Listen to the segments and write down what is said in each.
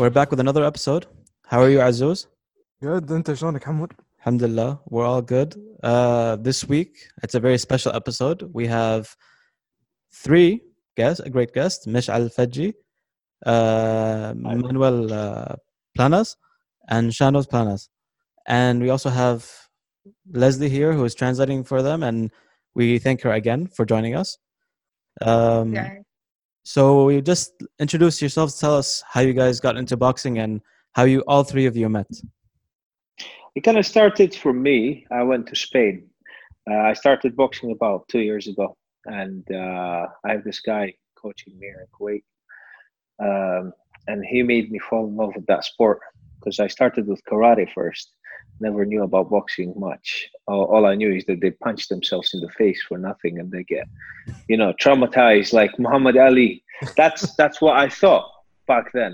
we're back with another episode. How are you, Azuz? Good. انت شلونك حمود؟ Alhamdulillah, we're all good. This week, it's a very special episode. We have three guests, a great guest, Mish'al Fadji, Manuel Planas, and Shanos Planas. And we also have Leslie here, who is translating for them, and we thank her again for joining us. So you just introduce yourselves, tell us how you guys got into boxing and how you all three of you met. It kind of started for me. I went to Spain. I started boxing about 2 years ago, and I have this guy coaching me here in Kuwait, and he made me fall in love with that sport because I started with karate first. Never knew about boxing much. All I knew is that they punch themselves in the face for nothing and they get, traumatized like Muhammad Ali. That's what I thought back then.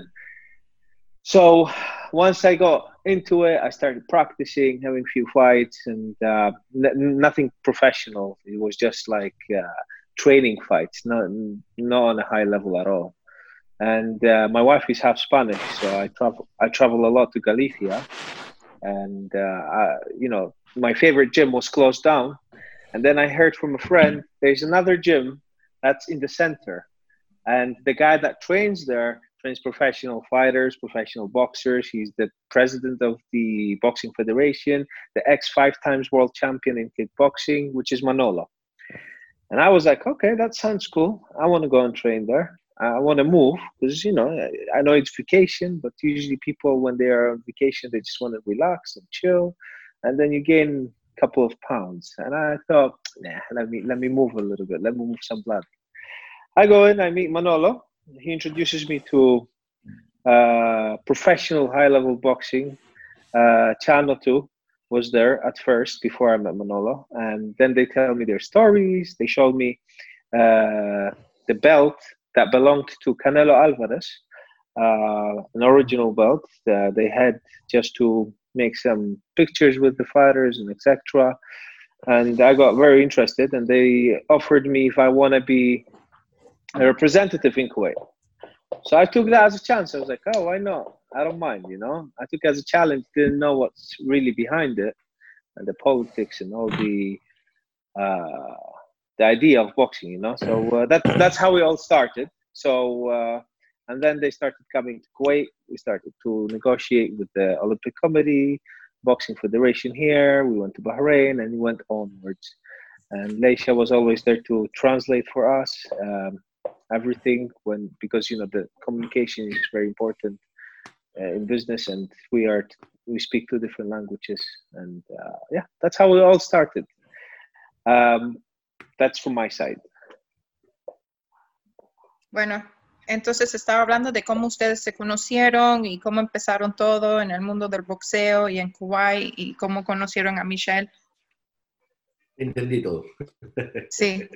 So once I got into it, I started practicing, having a few fights, and nothing professional. It was just like training fights, not on a high level at all. And my wife is half Spanish, so I travel a lot to Galicia. And my favorite gym was closed down, and then I heard from a friend there's another gym that's in the center, and the guy that trains there trains professional fighters, professional boxers. He's the president of the Boxing Federation, the ex 5 times world champion in kickboxing, which is Manolo. And I was like, okay, that sounds cool. I want to go and train there. I want to move because, I know it's vacation, but usually people, when they are on vacation, they just want to relax and chill. And then you gain a couple of pounds. And I thought, let me move a little bit. Let me move some blood. I go in, I meet Manolo. He introduces me to professional high-level boxing. Chano too was there at first before I met Manolo. And then they tell me their stories. They showed me the belt that belonged to Canelo Alvarez, an original belt they had just to make some pictures with the fighters and etc. And I got very interested, and they offered me if I want to be a representative in Kuwait. So I took that as a chance. I was like, oh, why not? I don't mind, I took it as a challenge, didn't know what's really behind it, and the politics and all the idea of boxing, So that's how we all started. So and then they started coming to Kuwait. We started to negotiate with the Olympic Committee, Boxing Federation here. We went to Bahrain, and we went onwards. And Leisha was always there to translate for us everything because the communication is very important in business, and we speak 2 different languages, and that's how we all started. That's from my side. Bueno, entonces estaba hablando de cómo ustedes se conocieron y cómo empezaron todo en el mundo del boxeo y en Kuwait y cómo conocieron a Michelle. Entendí todo. Sí.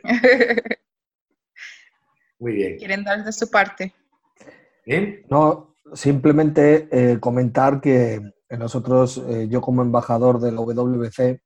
Muy bien. ¿Quieren dar de su parte? ¿Bien? No, simplemente comentar que nosotros, yo como embajador de la WBC,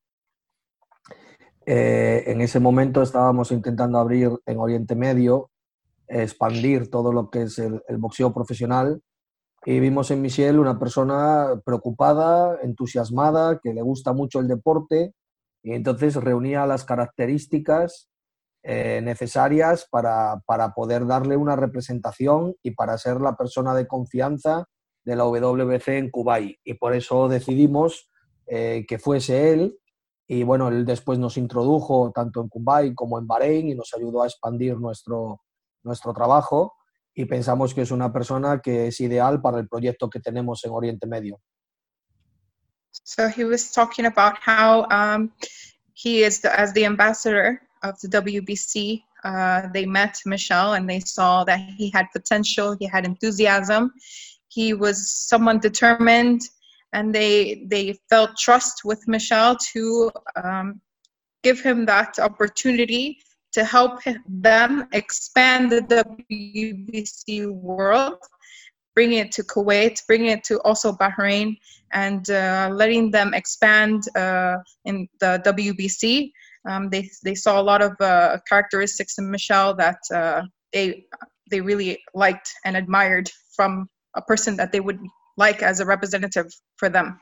en ese momento estábamos intentando abrir en Oriente Medio, expandir todo lo que es el boxeo profesional, y vimos en Michelle una persona preocupada, entusiasmada, que le gusta mucho el deporte, y entonces reunía las características necesarias para poder darle una representación y para ser la persona de confianza de la WBC en Kuwait, y por eso decidimos que fuese él. Y bueno, él después nos introdujo tanto en Kuwait como en Bahrein y nos ayudó a expandir nuestro trabajo, y pensamos que es una persona que es ideal para el proyecto que tenemos en Oriente Medio. So he was talking about how he is as the ambassador of the WBC. They met Michelle and they saw that he had potential, he had enthusiasm, he was someone determined, and they felt trust with Michelle to give him that opportunity to help them expand the WBC world, bring it to Kuwait, bring it to also Bahrain, and letting them expand in the WBC. They saw a lot of characteristics in Michelle that they really liked and admired from a person that they would like as a representative for them?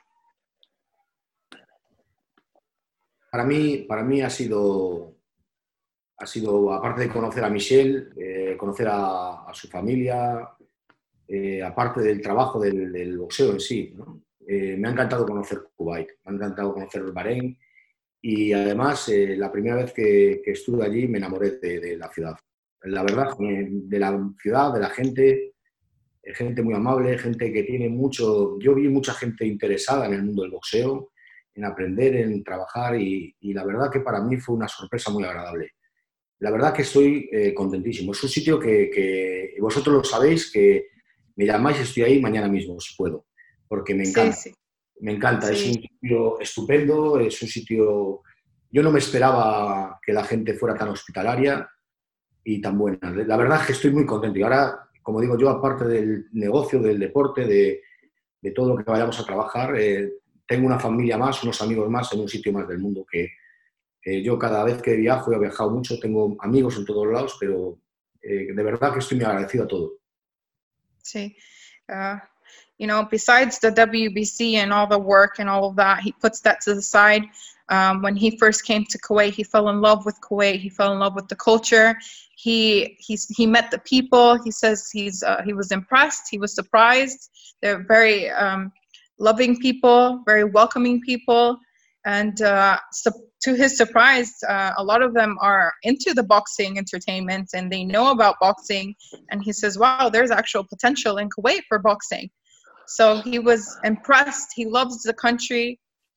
Para mí ha sido, aparte de conocer a Michelle, conocer a su familia, aparte del trabajo del boxeo en sí, ¿no? Me ha encantado conocer Kuwait, me ha encantado conocer Bahrein y además la primera vez que estuve allí me enamoré de la ciudad. La verdad, de la ciudad, de la gente, gente muy amable, gente que tiene mucho... Yo vi mucha gente interesada en el mundo del boxeo, en aprender, en trabajar y la verdad que para mí fue una sorpresa muy agradable. La verdad que estoy contentísimo. Es un sitio que vosotros lo sabéis, que me llamáis y estoy ahí mañana mismo, si puedo, porque me encanta. Sí, sí. Me encanta, Sí. es un sitio estupendo, es un sitio... Yo no me esperaba que la gente fuera tan hospitalaria y tan buena. La verdad es que estoy muy contento. Y ahora, como digo yo, aparte del negocio, del deporte, de todo lo que vayamos a trabajar, tengo una familia más, unos amigos más en un sitio más del mundo que yo cada vez que viajo, he viajado mucho, tengo amigos en todos lados, pero de verdad que estoy muy agradecido a todo. Sí. You know, besides the WBC and all the work and all of that, he puts that to the side. When he first came to Kuwait, he fell in love with Kuwait. He fell in love with the culture. He met the people. He says he was impressed. He was surprised. They're very loving people, very welcoming people. And to his surprise, a lot of them are into the boxing entertainment and they know about boxing. And he says, wow, there's actual potential in Kuwait for boxing. So he was impressed. He loves the country.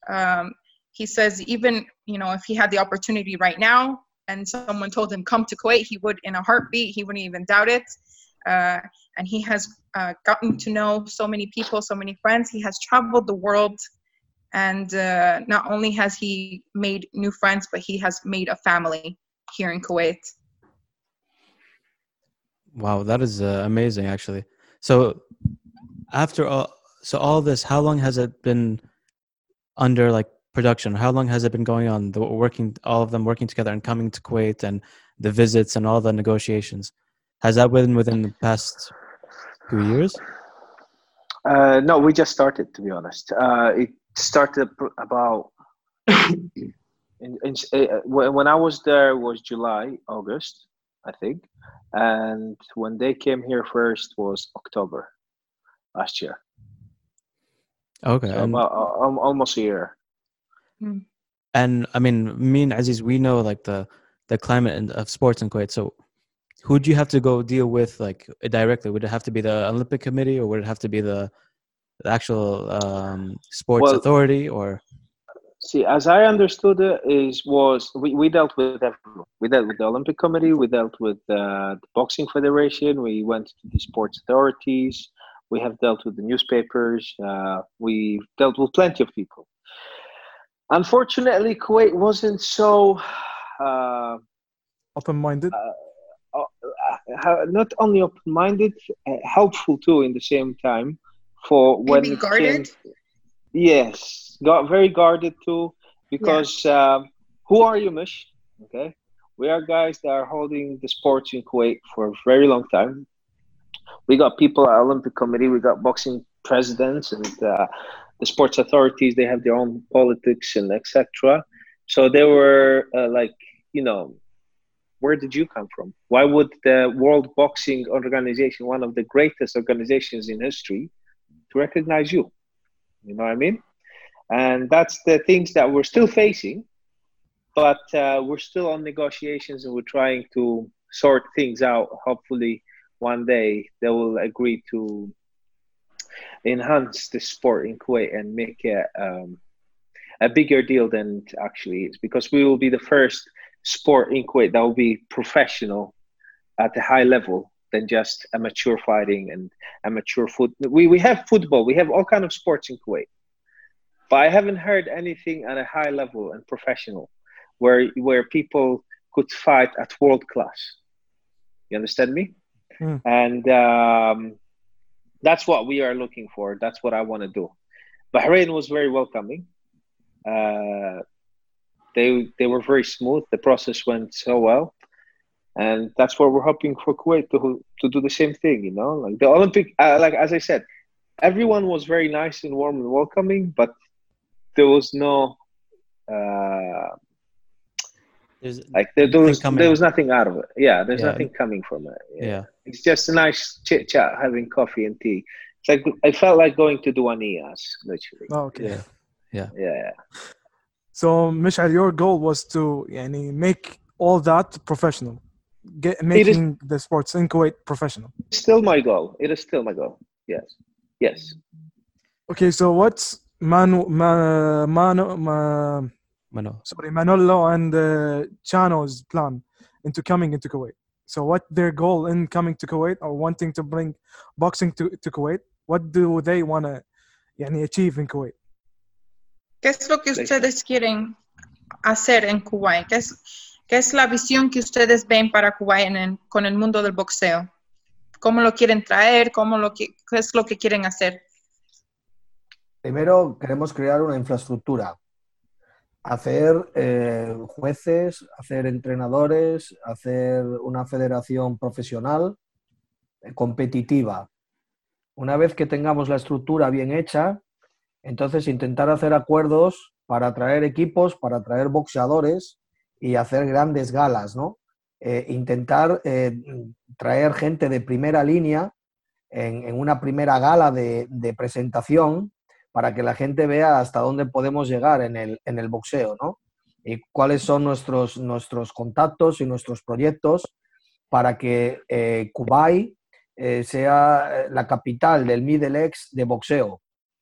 He says even, you know, if he had the opportunity right now and someone told him come to Kuwait, he would in a heartbeat. He wouldn't even doubt it. And he has gotten to know so many people, so many friends. He has traveled the world. And not only has he made new friends, but he has made a family here in Kuwait. Wow, that is amazing, actually. So after all this, how long has it been under like production? How long has it been going on? All of them working together and coming to Kuwait and the visits and all the negotiations. Has that been within the past few years? No, we just started, to be honest. It started about when I was there, it was July, August, I think, and when they came here first was October last year. Okay, So about almost a year. And I mean, me and Aziz, we know like the climate of sports in Kuwait. So who do you have to go deal with like directly? Would it have to be the Olympic Committee, or would it have to be the actual sports authority? Or see, as I understood it, we dealt with everyone. We dealt with the Olympic Committee. We dealt with the Boxing Federation. We went to the sports authorities. We have dealt with the newspapers. We dealt with plenty of people. Unfortunately, Kuwait wasn't so open-minded. Not only open-minded, helpful too in the same time. For when maybe guarded. Yes, got very guarded too, because who are you, Mish? Okay, we are guys that are holding the sports in Kuwait for a very long time. We got people at Olympic Committee. We got boxing presidents and the sports authorities. They have their own politics and etc. So they were like, you know, where did you come from? Why would the World Boxing Organization, one of the greatest organizations in history, to recognize you? You know what I mean? And that's the things that we're still facing, but we're still on negotiations and we're trying to sort things out. Hopefully one day they will agree to enhance the sport in Kuwait and make it a bigger deal than it actually is, because we will be the first sport in Kuwait that will be professional at a high level than just amateur fighting and amateur football. We have football, we have all kinds of sports in Kuwait, but I haven't heard anything at a high level and professional where people could fight at world class. You understand me? And that's what we are looking for. That's what I want to do. Bahrain was very welcoming. They were very smooth. The process went so well. And that's what we're hoping for Kuwait to do the same thing. You know, like the Olympic, like as I said, everyone was very nice and warm and welcoming, but there was no. There was nothing out of it. Yeah, there's nothing coming from it. Yeah. It's just a nice chit chat, having coffee and tea. It's like I felt like going to Duanias, literally. Oh, okay. Yeah. So, Mishal, your goal was to make all that professional, making the sports in Kuwait professional. Still my goal. It is still my goal. Yes. Okay, so what's Manolo and Chano's plan into coming into Kuwait? So what their goal in coming to Kuwait or wanting to bring boxing to Kuwait? What do they want to achieve in Kuwait? ¿Qué es lo que ustedes quieren hacer en Kuwait? ¿Qué es la visión que ustedes ven para Kuwait con el mundo del boxeo? ¿Cómo lo quieren traer? ¿Qué es lo que quieren hacer? Primero, queremos crear una infraestructura. Hacer jueces, hacer entrenadores, hacer una federación profesional competitiva. Una vez que tengamos la estructura bien hecha, entonces intentar hacer acuerdos para traer equipos, para traer boxeadores y hacer grandes galas, ¿no? Intentar traer gente de primera línea en una primera gala de presentación para que la gente vea hasta dónde podemos llegar en el boxeo, ¿no? Y cuáles son nuestros contactos y nuestros proyectos para que Kuwait sea la capital del Middle East de boxeo.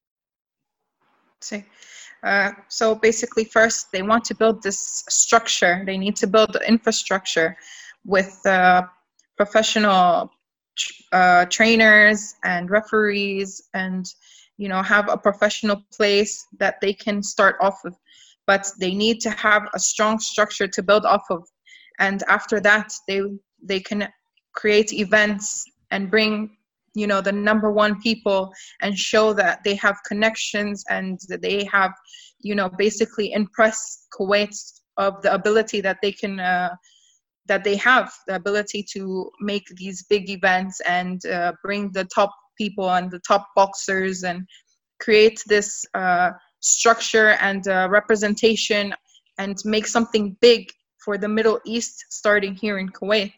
Sí. So basically, first, they want to build this structure. They need to build the infrastructure with professional trainers and referees and have a professional place that they can start off of, but they need to have a strong structure to build off of. And after that, they can create events and bring, the number one people and show that they have connections and that they have, basically impress Kuwait of the ability that they can, that they have the ability to make these big events and bring the top people and the top boxers and create this structure and representation and make something big for the Middle East starting here in Kuwait.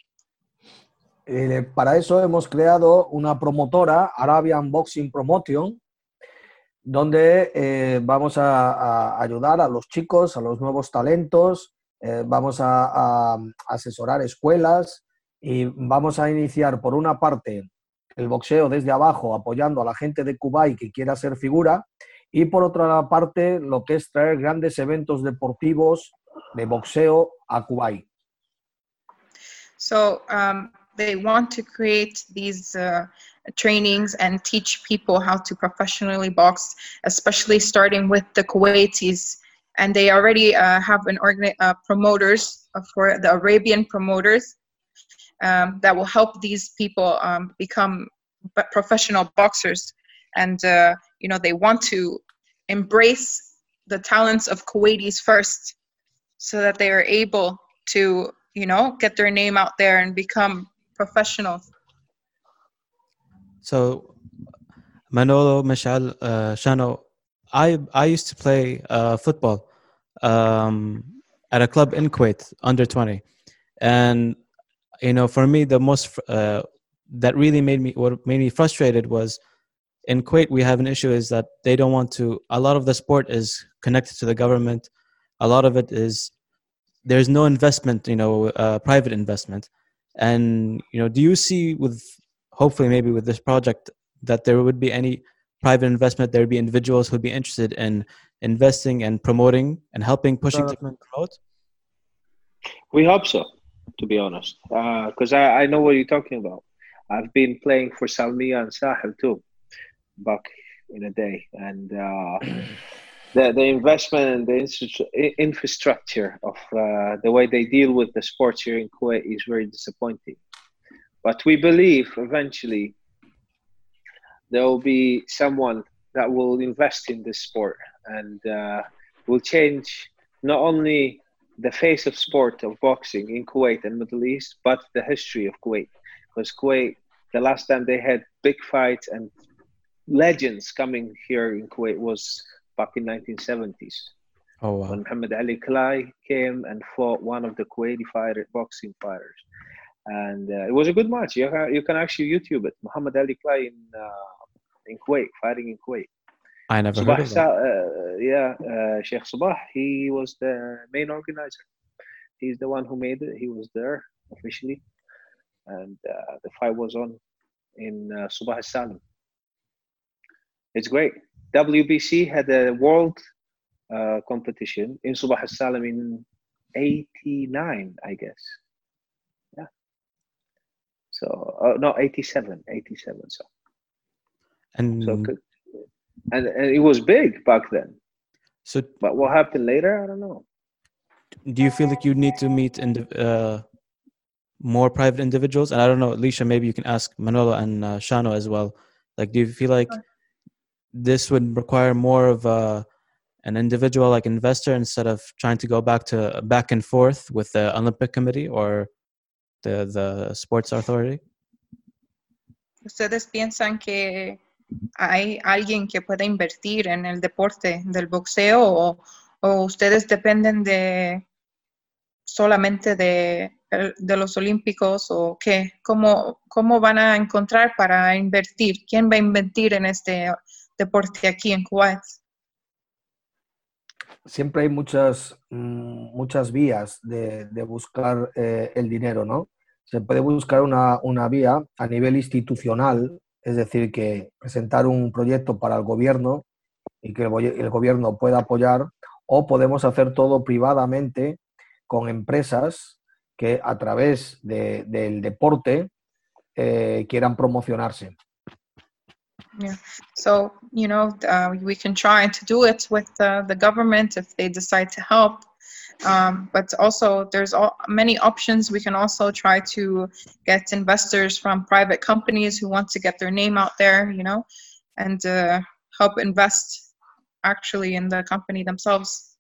Para eso hemos creado una promotora, Arabian Boxing Promotion, donde vamos a ayudar a los chicos, a los nuevos talentos, vamos a asesorar escuelas y vamos a iniciar por una parte el boxeo desde abajo, apoyando a la gente de Kuwait que quiera ser figura, y por otra parte lo que es traer grandes eventos deportivos de boxeo a Kuwait. So they want to create these trainings and teach people how to professionally box, especially starting with the Kuwaitis. And they already have promoters for the Arabian promoters that will help these people become professional boxers. And, they want to embrace the talents of Kuwaitis first so that they are able to, get their name out there and become professionals. So, Manolo, Mishal, Shano, I used to play football at a club in Kuwait, under 20. And, for me, the most that really made me frustrated was in Kuwait, we have an issue is that they don't want to, a lot of the sport is connected to the government. A lot of it is, there's no investment, private investment. And, do you see hopefully maybe with this project that there would be any private investment, there would be individuals who would be interested in investing and promoting and helping pushing to promote? We hope so, to be honest, because I know what you're talking about. I've been playing for Salmiya and Sahel too, back in a day, and the investment and the infrastructure of the way they deal with the sports here in Kuwait is very disappointing. But we believe eventually there will be someone that will invest in this sport and will change not only the face of sport of boxing in Kuwait and Middle East, but the history of Kuwait. Because Kuwait, the last time they had big fights and legends coming here in Kuwait was back in 1970s. Oh wow. When Muhammad Ali Klai came and fought one of the Kuwaiti boxing fighters. And it was a good match. You can actually YouTube it. Muhammad Ali Klai in Kuwait, fighting in Kuwait. I never heard of that. Sheikh Sabah, he was the main organizer. He's the one who made it. He was there officially. And the fight was on in Subah al-Salim. It's great. WBC had a world competition in Subah al-Salim in 89, I guess. Yeah. So, no, 87. So. And it was big back then. so But what happened later, I don't know. do you feel like you need to meet more private individuals? And I don't know, Alicia, maybe you can ask Manolo and Shano as well. Like, do you feel like this would require more of an individual, like investor, instead of trying to go back and forth with the Olympic Committee or the Sports Authority? ¿Ustedes piensan que hay alguien que pueda invertir en el deporte del boxeo o ustedes dependen solamente de los olímpicos o qué? ¿Cómo van a encontrar para invertir? ¿Quién va a invertir en este deporte aquí en Kuwait? Siempre hay muchas vías de buscar el dinero, ¿no? Se puede buscar una vía a nivel institucional, es decir, que presentar un proyecto para el gobierno y que el gobierno pueda apoyar, o podemos hacer todo privadamente con empresas que a través del deporte quieran promocionarse. Yeah. So, we can try to do it with the government if they decide to help. But also there's many options. We can also try to get investors from private companies who want to get their name out there, and help invest actually in the company themselves.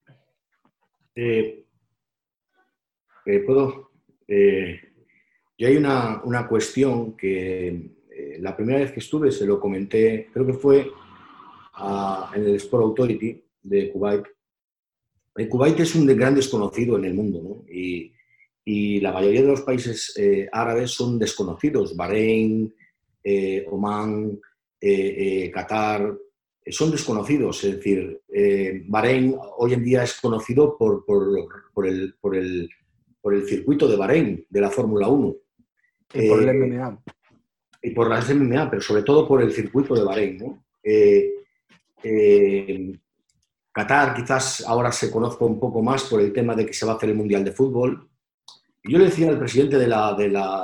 ¿Puedo? Yo hay una cuestión que la primera vez que estuve se lo comenté, creo que fue en el Sport Authority de Kuwait. Kuwait es un gran desconocido en el mundo, ¿no? Y la mayoría de los países árabes son desconocidos. Bahrein, Omán, Qatar, son desconocidos. Es decir, Bahrein hoy en día es conocido por el circuito de Bahrein, de la Fórmula 1. Y por el MMA. Y por las MMA, pero sobre todo por el circuito de Bahrein, ¿no? Qatar quizás ahora se conozca un poco más por el tema de que se va a hacer el Mundial de Fútbol. Y yo le decía al presidente de la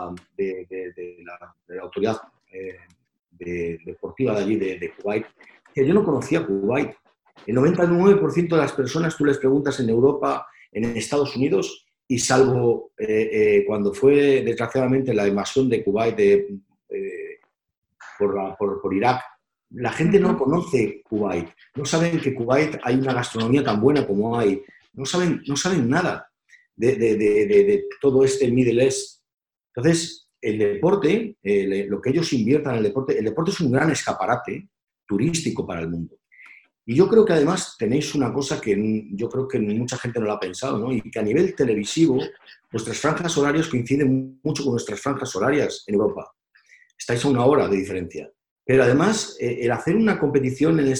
autoridad deportiva de allí, de Kuwait, que yo no conocía Kuwait. El 99% de las personas, tú les preguntas en Europa, en Estados Unidos, y salvo cuando fue desgraciadamente la invasión de Kuwait por Irak, la gente no conoce Kuwait, no saben que Kuwait hay una gastronomía tan buena como hay, no saben nada de todo este Middle East. Entonces, el deporte, lo que ellos inviertan en el deporte es un gran escaparate turístico para el mundo. Y yo creo que además tenéis una cosa que yo creo que mucha gente no lo ha pensado, ¿no? Y que a nivel televisivo, vuestras franjas horarias coinciden mucho con nuestras franjas horarias en Europa. Estáis a una hora de diferencia. Pero además, el hacer una competición en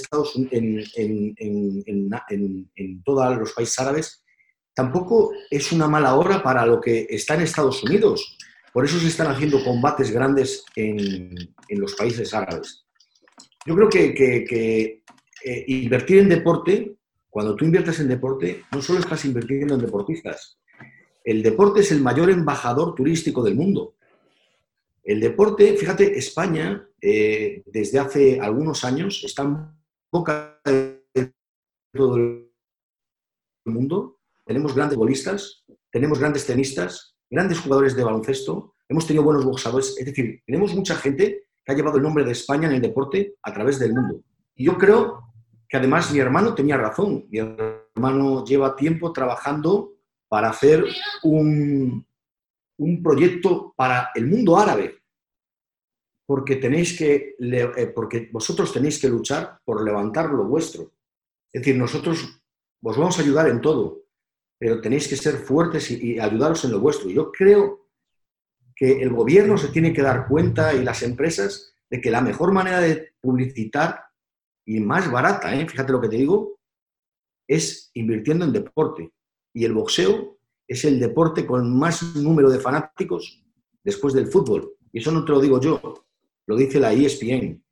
todos los países árabes tampoco es una mala hora para lo que está en Estados Unidos. Por eso se están haciendo combates grandes en los países árabes. Yo creo que invertir en deporte, cuando tú inviertes en deporte, no solo estás invirtiendo en deportistas. El deporte es el mayor embajador turístico del mundo. El deporte, fíjate, España, desde hace algunos años, está en boca de todo el mundo. Tenemos grandes bolistas, tenemos grandes tenistas, grandes jugadores de baloncesto, hemos tenido buenos boxeadores. Es decir, tenemos mucha gente que ha llevado el nombre de España en el deporte a través del mundo. Y yo creo que además mi hermano tenía razón. Mi hermano lleva tiempo trabajando para hacer un proyecto para el mundo árabe, porque porque vosotros tenéis que luchar por levantar lo vuestro. Es decir, nosotros os vamos a ayudar en todo, pero tenéis que ser fuertes y ayudaros en lo vuestro. Yo creo que el gobierno se tiene que dar cuenta y las empresas de que la mejor manera de publicitar y más barata, fíjate lo que te digo, es invirtiendo en deporte. Y el boxeo es el deporte con más número de fanáticos después del fútbol. Y eso no te lo digo yo, lo dice la ESPN.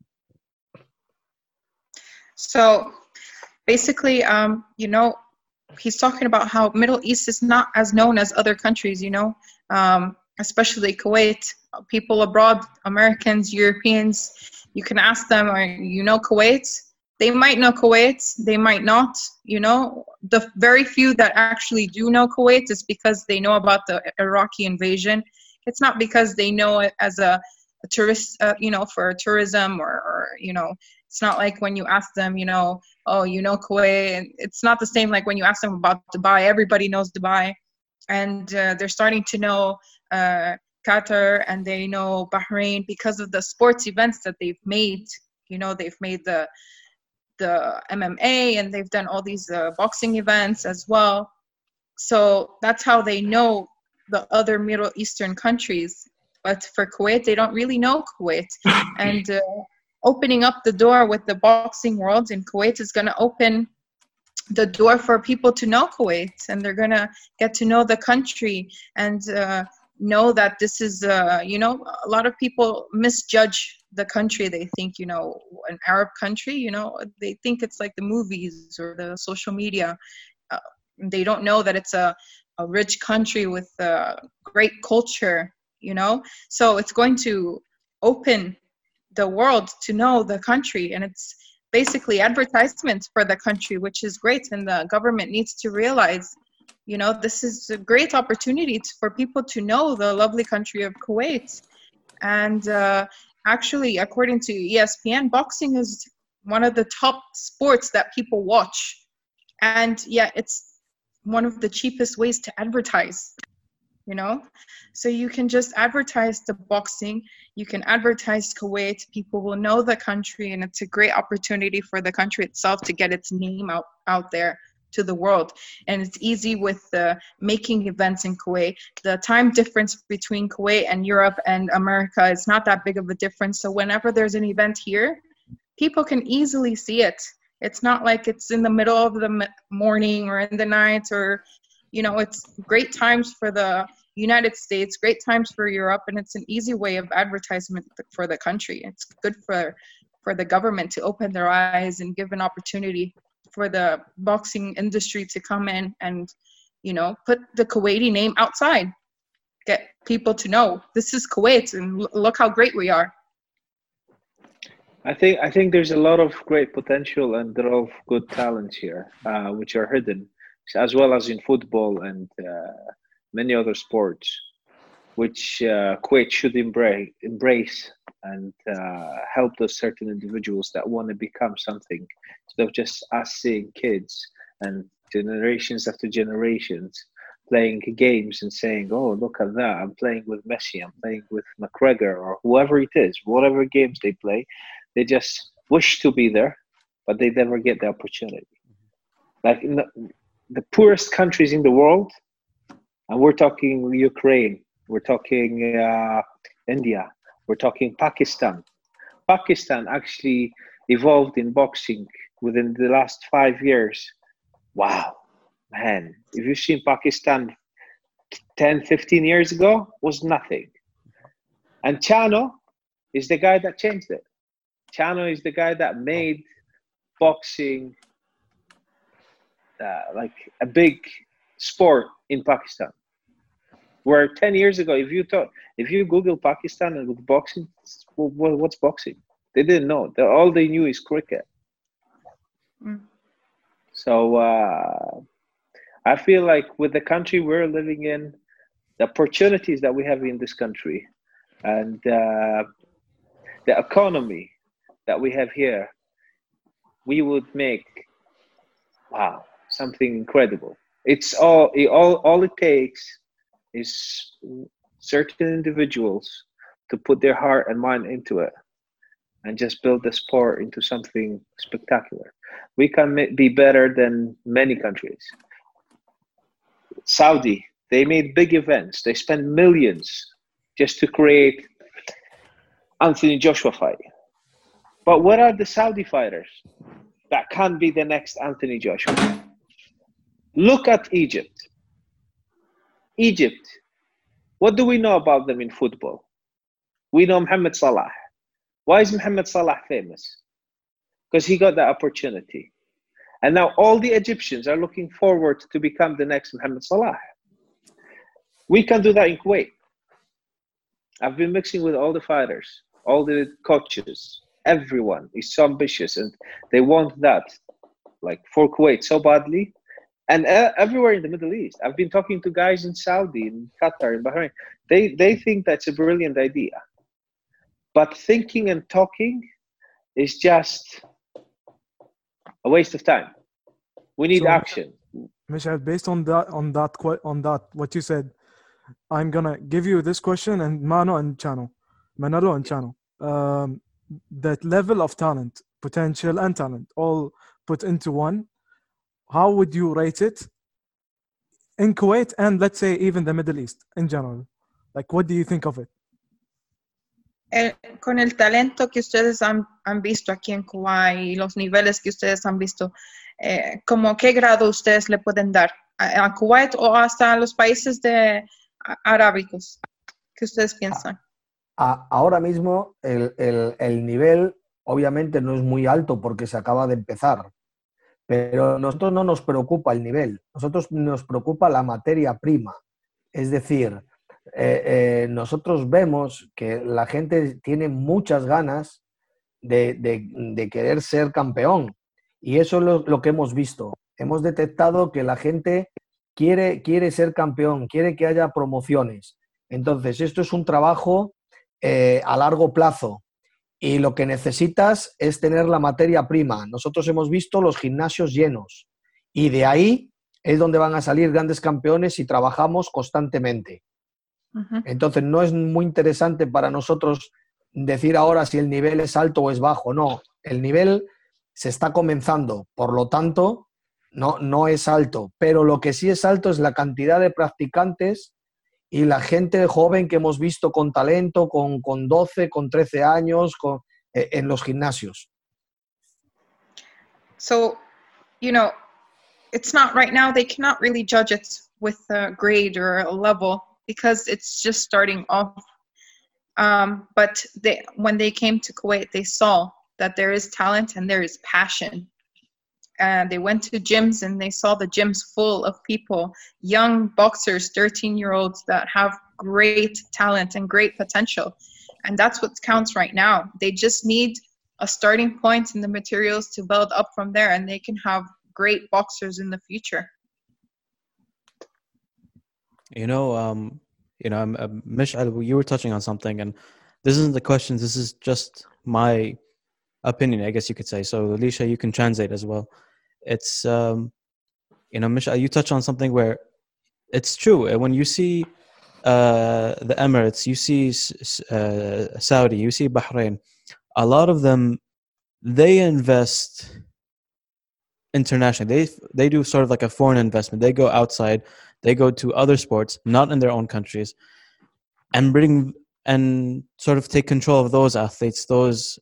So basically, you know, he's talking about how Middle East is not as known as other countries, you know, especially Kuwait. People abroad, Americans, Europeans, you can ask them, you know Kuwait? They might know Kuwait, they might not, you know. The very few that actually do know Kuwait is because they know about the Iraqi invasion. It's not because they know it as a tourist, you know, for tourism or, you know, it's not like when you ask them, you know, oh, you know Kuwait. And it's not the same like when you ask them about Dubai. Everybody knows Dubai. And they're starting to know Qatar, and they know Bahrain because of the sports events that they've made. You know, they've made the MMA, and they've done all these boxing events as well. So that's how they know the other Middle Eastern countries. But for Kuwait, they don't really know Kuwait. And opening up the door with the boxing world in Kuwait is going to open the door for people to know Kuwait, and they're going to get to know the country and know that this is, you know, a lot of people misjudge the country. They think, you know, an Arab country, you know, they think it's like the movies or the social media. They don't know that it's a rich country with great culture, you know. So it's going to open the world to know the country, and it's basically advertisements for the country, which is great. And the government needs to realize, you know, this is a great opportunity for people to know the lovely country of Kuwait. And actually, according to ESPN, boxing is one of the top sports that people watch. And yeah, it's one of the cheapest ways to advertise, you know. So you can just advertise the boxing, you can advertise Kuwait, people will know the country, and it's a great opportunity for the country itself to get its name out there to the world. And it's easy with making events in Kuwait. The time difference between Kuwait and Europe and America is not that big of a difference. So whenever there's an event here, people can easily see it. It's not like it's in the middle of the morning or in the night, or, you know, it's great times for the United States, great times for Europe, and it's an easy way of advertisement for the country. It's good for the government to open their eyes and give an opportunity for the boxing industry to come in and, you know, put the Kuwaiti name outside, get people to know this is Kuwait and look how great we are. I think there's a lot of great potential and a lot of good talents here, which are hidden, as well as in football and many other sports, which Kuwait should embrace and help those certain individuals that want to become something, instead of just us seeing kids and generations after generations playing games and saying, oh, look at that, I'm playing with Messi, I'm playing with McGregor, or whoever it is, whatever games they play, they just wish to be there, but they never get the opportunity. Like in the poorest countries in the world, and we're talking Ukraine, we're talking India, we're talking Pakistan. Pakistan actually evolved in boxing within the last 5 years. Wow, man. If you've seen Pakistan 10, 15 years ago, was nothing. And Chano is the guy that changed it. Chano is the guy that made boxing like a big sport in Pakistan. Where 10 years ago, if you Google Pakistan and look boxing, what's boxing? They didn't know. All they knew is cricket. Mm. So I feel like with the country we're living in, the opportunities that we have in this country, and the economy that we have here, we would make, wow, something incredible. It's all it takes is certain individuals to put their heart and mind into it and just build the sport into something spectacular. We can be better than many countries. Saudi, they made big events. They spent millions just to create Anthony Joshua fight. But what are the Saudi fighters that can't be the next Anthony Joshua? Look at Egypt. Egypt, what do we know about them in football? We know Mohamed Salah. Why is Mohamed Salah famous? Because he got that opportunity. And now all the Egyptians are looking forward to become the next Mohamed Salah. We can do that in Kuwait. I've been mixing with all the fighters, all the coaches. Everyone is so ambitious and they want that, like for Kuwait so badly. And everywhere in the Middle East. I've been talking to guys in Saudi, in Qatar, in Bahrain. They think that's a brilliant idea. But thinking and talking is just a waste of time. We need action. Michel, based on that, what you said, I'm gonna give you this question, and Manolo and Chano, that level of talent, potential and talent, all put into one. How would you rate it in Kuwait and let's say even the Middle East in general? Like, what do you think of it? Con el talento que ustedes han visto aquí en Kuwait y los niveles que ustedes han visto, ¿cómo qué grado ustedes le pueden dar a Kuwait o hasta a los países arábicos? ¿Qué ustedes piensan? Ahora mismo el nivel obviamente no es muy alto porque se acaba de empezar, pero a nosotros no nos preocupa el nivel, nosotros nos preocupa la materia prima. Es decir, nosotros vemos que la gente tiene muchas ganas de querer ser campeón y eso es lo que hemos visto. Hemos detectado que la gente quiere ser campeón, quiere que haya promociones. Entonces, esto es un trabajo a largo plazo y lo que necesitas es tener la materia prima. Nosotros hemos visto los gimnasios llenos y de ahí es donde van a salir grandes campeones y trabajamos constantemente. Uh-huh. Entonces, no es muy interesante para nosotros decir ahora si el nivel es alto o es bajo. No, el nivel se está comenzando, por lo tanto, no es alto. Pero lo que sí es alto es la cantidad de practicantes y la gente joven que hemos visto con talento, con 12, con 13 años, en los gimnasios. So, you know, it's not right now, they cannot really judge it with a grade or a level because it's just starting off. But when they came to Kuwait, they saw that there is talent and there is passion. And they went to gyms and they saw the gyms full of people, young boxers, 13-year-olds that have great talent and great potential. And that's what counts right now. They just need a starting point in the materials to build up from there, and they can have great boxers in the future. Mish'al, you were touching on something, and this isn't the question. This is just my opinion, I guess you could say. So, Alicia, you can translate as well. It's, Mish'al, you touch on something where it's true. When you see the Emirates, you see Saudi, you see Bahrain, a lot of them, they invest internationally. They do sort of like a foreign investment. They go outside, they go to other sports, not in their own countries, and bring and sort of take control of those athletes, those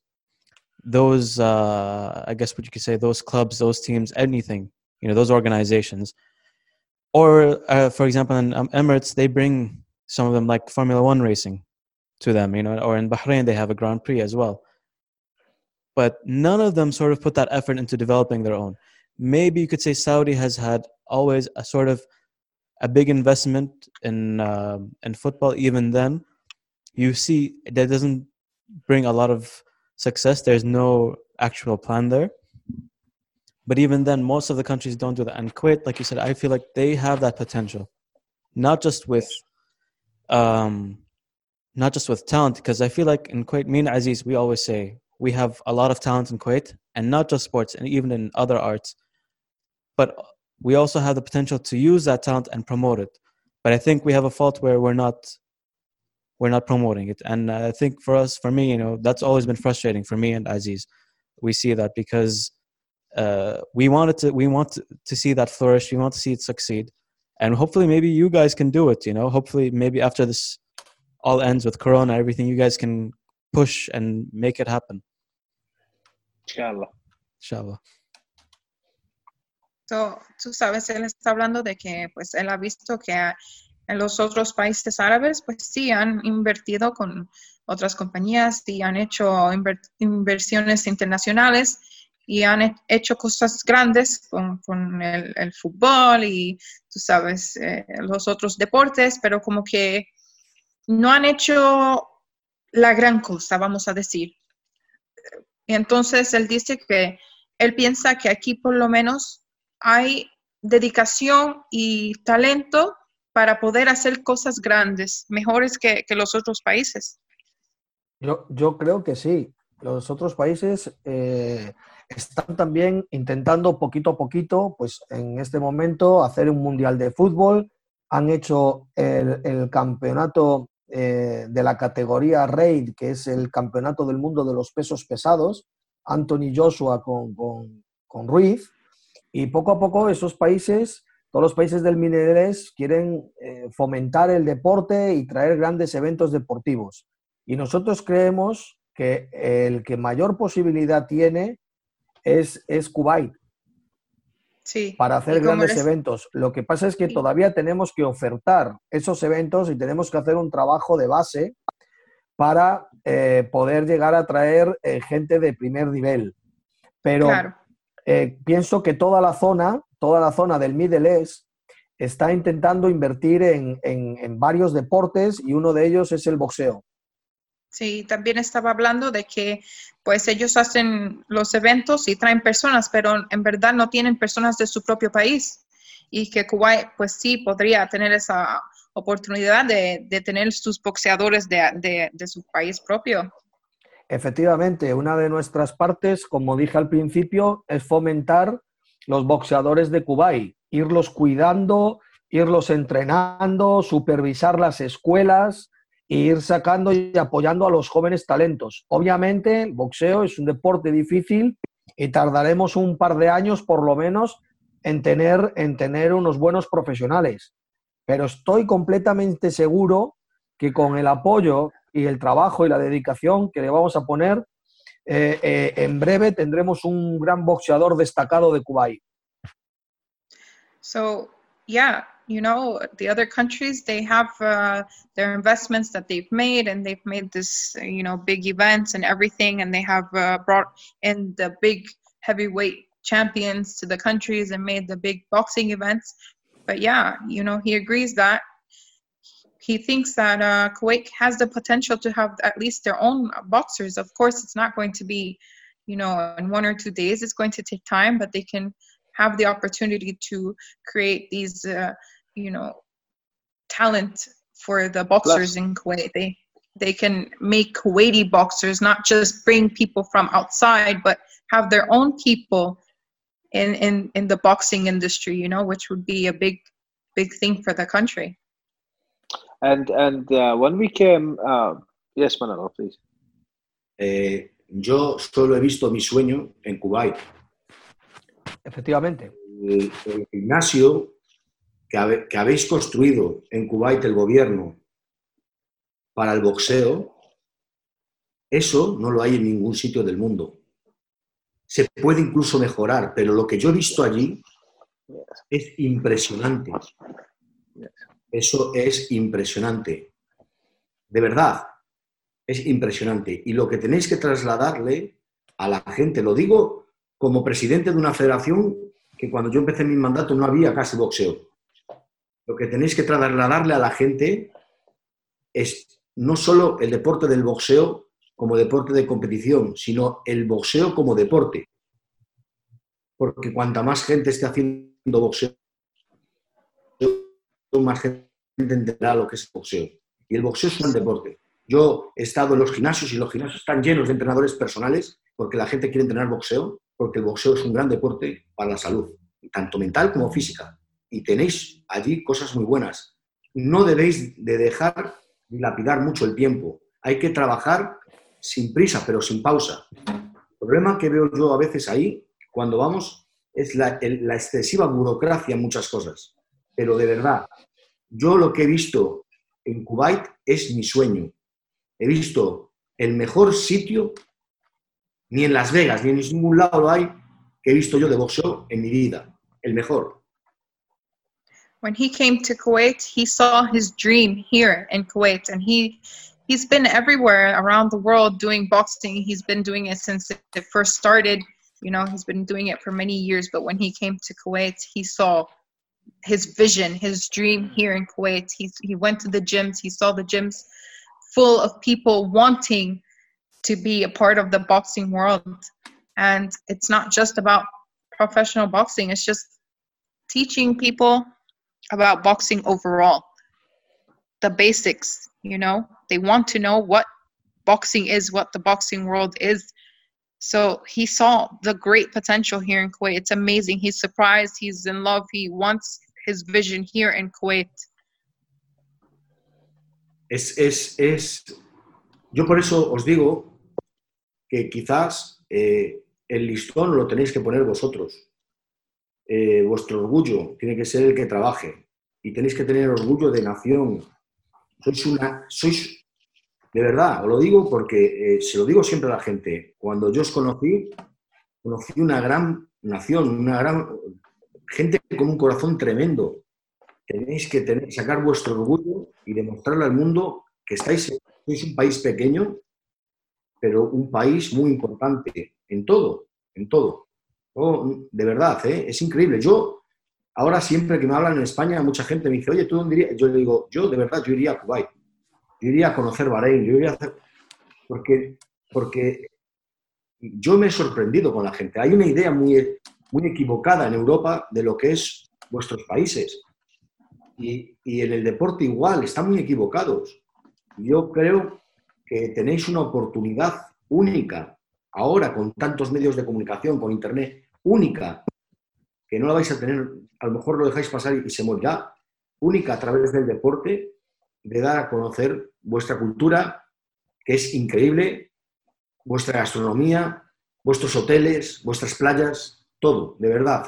I guess what you could say, those clubs, those teams, anything, those organizations. Or for example, in Emirates, they bring some of them like Formula One racing to them, or in Bahrain, they have a Grand Prix as well. But none of them sort of put that effort into developing their own. Maybe you could say Saudi has had always a sort of a big investment in football. Even then, you see that doesn't bring a lot of success. There's no actual plan there. But even then, most of the countries don't do that. And Kuwait, like you said, I feel like they have that potential, not just with talent. Because I feel like in Kuwait, me and Aziz, we always say we have a lot of talent in Kuwait, and not just sports, and even in other arts. But we also have the potential to use that talent and promote it. But I think we have a fault where we're not promoting it. And I think for me, that's always been frustrating for me and Aziz. We see that because we want to see that flourish. We want to see it succeed. And hopefully maybe you guys can do it, hopefully maybe after this all ends with Corona, everything, you guys can push and make it happen. Inshallah. So, tú sabes, él está hablando de que pues él ha visto que en los otros países árabes pues sí han invertido con otras compañías y han hecho inversiones internacionales y han hecho cosas grandes con el fútbol y tú sabes los otros deportes, pero como que no han hecho la gran cosa, vamos a decir. Y entonces él dice que él piensa que aquí por lo menos hay dedicación y talento para poder hacer cosas grandes, mejores que los otros países. Yo creo que sí. Los otros países están también intentando poquito a poquito, pues en este momento, hacer un mundial de fútbol. Han hecho el campeonato de la categoría RAID, que es el campeonato del mundo de los pesos pesados, Anthony Joshua con Ruiz, y poco a poco esos países, todos los países del Middle East quieren fomentar el deporte y traer grandes eventos deportivos. Y nosotros creemos que el que mayor posibilidad tiene es Kuwait. Sí. Para hacer grandes eventos. Lo que pasa es que todavía tenemos que ofertar esos eventos y tenemos que hacer un trabajo de base para poder llegar a traer gente de primer nivel. Pero claro, pienso que toda la zona del Middle East está intentando invertir en varios deportes y uno de ellos es el boxeo. Sí, también estaba hablando de que pues ellos hacen los eventos y traen personas, pero en verdad no tienen personas de su propio país y que Kuwait pues sí podría tener esa oportunidad de tener sus boxeadores de su país propio. Efectivamente, una de nuestras partes, como dije al principio, es fomentar los boxeadores de Kuwait, irlos cuidando, irlos entrenando, supervisar las escuelas e ir sacando y apoyando a los jóvenes talentos. Obviamente, el boxeo es un deporte difícil y tardaremos un par de años, por lo menos, en tener unos buenos profesionales. Pero estoy completamente seguro que con el apoyo y el trabajo y la dedicación que le vamos a poner, en breve tendremos un gran boxeador destacado de Kuwait. So, yeah, the other countries, they have their investments that they've made, and they've made this, big events and everything, and they have brought in the big heavyweight champions to the countries and made the big boxing events. But yeah, he agrees that he thinks that Kuwait has the potential to have at least their own boxers. Of course, it's not going to be, in 1 or 2 days. It's going to take time, but they can have the opportunity to create these, talent for the boxers in Kuwait. They can make Kuwaiti boxers, not just bring people from outside, but have their own people in the boxing industry, which would be a big thing for the country. And when we came, yes, Manolo, please. Yo solo he visto mi sueño en Kuwait. Efectivamente. El gimnasio que habéis construido en Kuwait, el gobierno, para el boxeo, eso no lo hay en ningún sitio del mundo. Se puede incluso mejorar, pero lo que yo he visto allí es impresionante. Eso es impresionante. De verdad, es impresionante. Y lo que tenéis que trasladarle a la gente, lo digo como presidente de una federación que cuando yo empecé mi mandato no había casi boxeo. Lo que tenéis que trasladarle a la gente es no solo el deporte del boxeo como deporte de competición, sino el boxeo como deporte. Porque cuanta más gente esté haciendo boxeo, más gente entenderá lo que es el boxeo. Y el boxeo es un deporte. Yo he estado en los gimnasios y los gimnasios están llenos de entrenadores personales porque la gente quiere entrenar boxeo, porque el boxeo es un gran deporte para la salud. tanto mental como física. Y tenéis allí cosas muy buenas. No debéis de dejar dilapidar mucho el tiempo. Hay que trabajar sin prisa, pero sin pausa. El problema que veo yo a veces ahí, cuando vamos, es la excesiva burocracia en muchas cosas. Pero de verdad, yo lo que he visto en Kuwait es mi sueño. He visto el mejor sitio, ni en Las Vegas, ni en ningún lado lo hay, que he visto yo de boxeo en mi vida. El mejor. When he came to Kuwait, he saw his dream here in Kuwait, and he's been everywhere around the world doing boxing. He's been doing it since it first started. You know, he's been doing it for many years, but when he came to Kuwait, he saw his vision, his dream here in Kuwait. He went to the gyms, he saw the gyms full of people wanting to be a part of the boxing world. And it's not just about professional boxing, it's just teaching people about boxing overall, the basics. You know, they want to know what boxing is, what the boxing world is. So he saw the great potential here in Kuwait. It's amazing. He's surprised, he's in love, he wants his vision here in Kuwait. Yo por eso os digo que quizás el listón lo tenéis que poner vosotros. Vuestro orgullo tiene que ser el que trabaje y tenéis que tener orgullo de nación. Sois de verdad, os lo digo porque se lo digo siempre a la gente. Cuando yo os conocí una gran nación, una gran gente con un corazón tremendo. Tenéis que sacar vuestro orgullo y demostrarle al mundo que sois un país pequeño, pero un país muy importante en todo, en todo. De verdad, es increíble. Yo, ahora siempre que me hablan en España, mucha gente me dice, oye, ¿tú dónde irías? Yo le digo, yo de verdad, yo iría a Kuwait. Yo iría a conocer Bahrein, yo iría a hacer... Porque yo me he sorprendido con la gente. Hay una idea muy equivocada en Europa de lo que es vuestros países. Y en el deporte igual, están muy equivocados. Yo creo que tenéis una oportunidad única, ahora con tantos medios de comunicación, con internet, única, que no la vais a tener, a lo mejor lo dejáis pasar y se morirá, única a través del deporte, de dar a conocer vuestra cultura, que es increíble, vuestra gastronomía, vuestros hoteles, vuestras playas, todo, de verdad,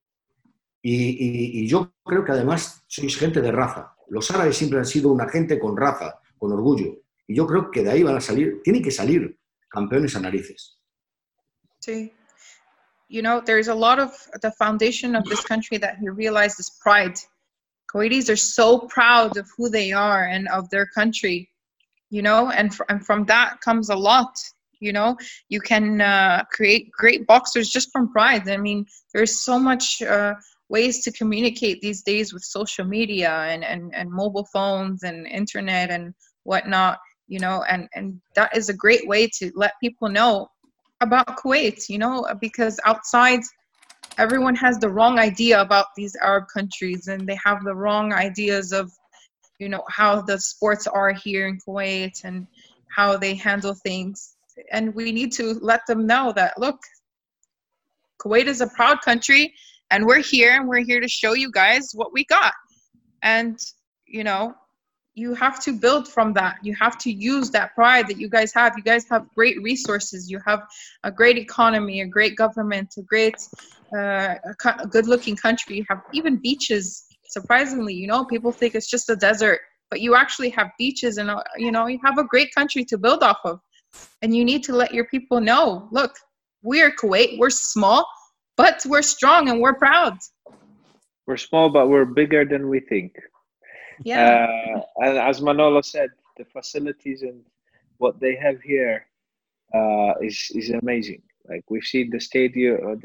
Y yo creo que además sois gente de raza. Los árabes siempre han sido una gente con raza, con orgullo. Y yo creo que de ahí van a salir, tienen que salir campeones a narices. Sí. You know, there's a lot of the foundation of this country that he realized is pride. Kuwaitis are so proud of who they are and of their country, you know, and from that comes a lot. You know, you can create great boxers just from pride. I mean, there's so much ways to communicate these days with social media and mobile phones and internet and whatnot, you know, and that is a great way to let people know about Kuwait, you know, because outside everyone has the wrong idea about these Arab countries, and they have the wrong ideas of, you know, how the sports are here in Kuwait and how they handle things. And we need to let them know that, look, Kuwait is a proud country, and we're here to show you guys what we got. And, you know, you have to build from that. You have to use that pride that you guys have. You guys have great resources. You have a great economy, a great government, a great, good-looking country. You have even beaches. Surprisingly, you know, people think it's just a desert, but you actually have beaches, and, you know, you have a great country to build off of. And you need to let your people know, look, we're Kuwait, we're small, but we're strong and we're proud. We're small, but we're bigger than we think. Yeah. And as Manolo said, the facilities and what they have here is amazing. Like, we've seen the stadium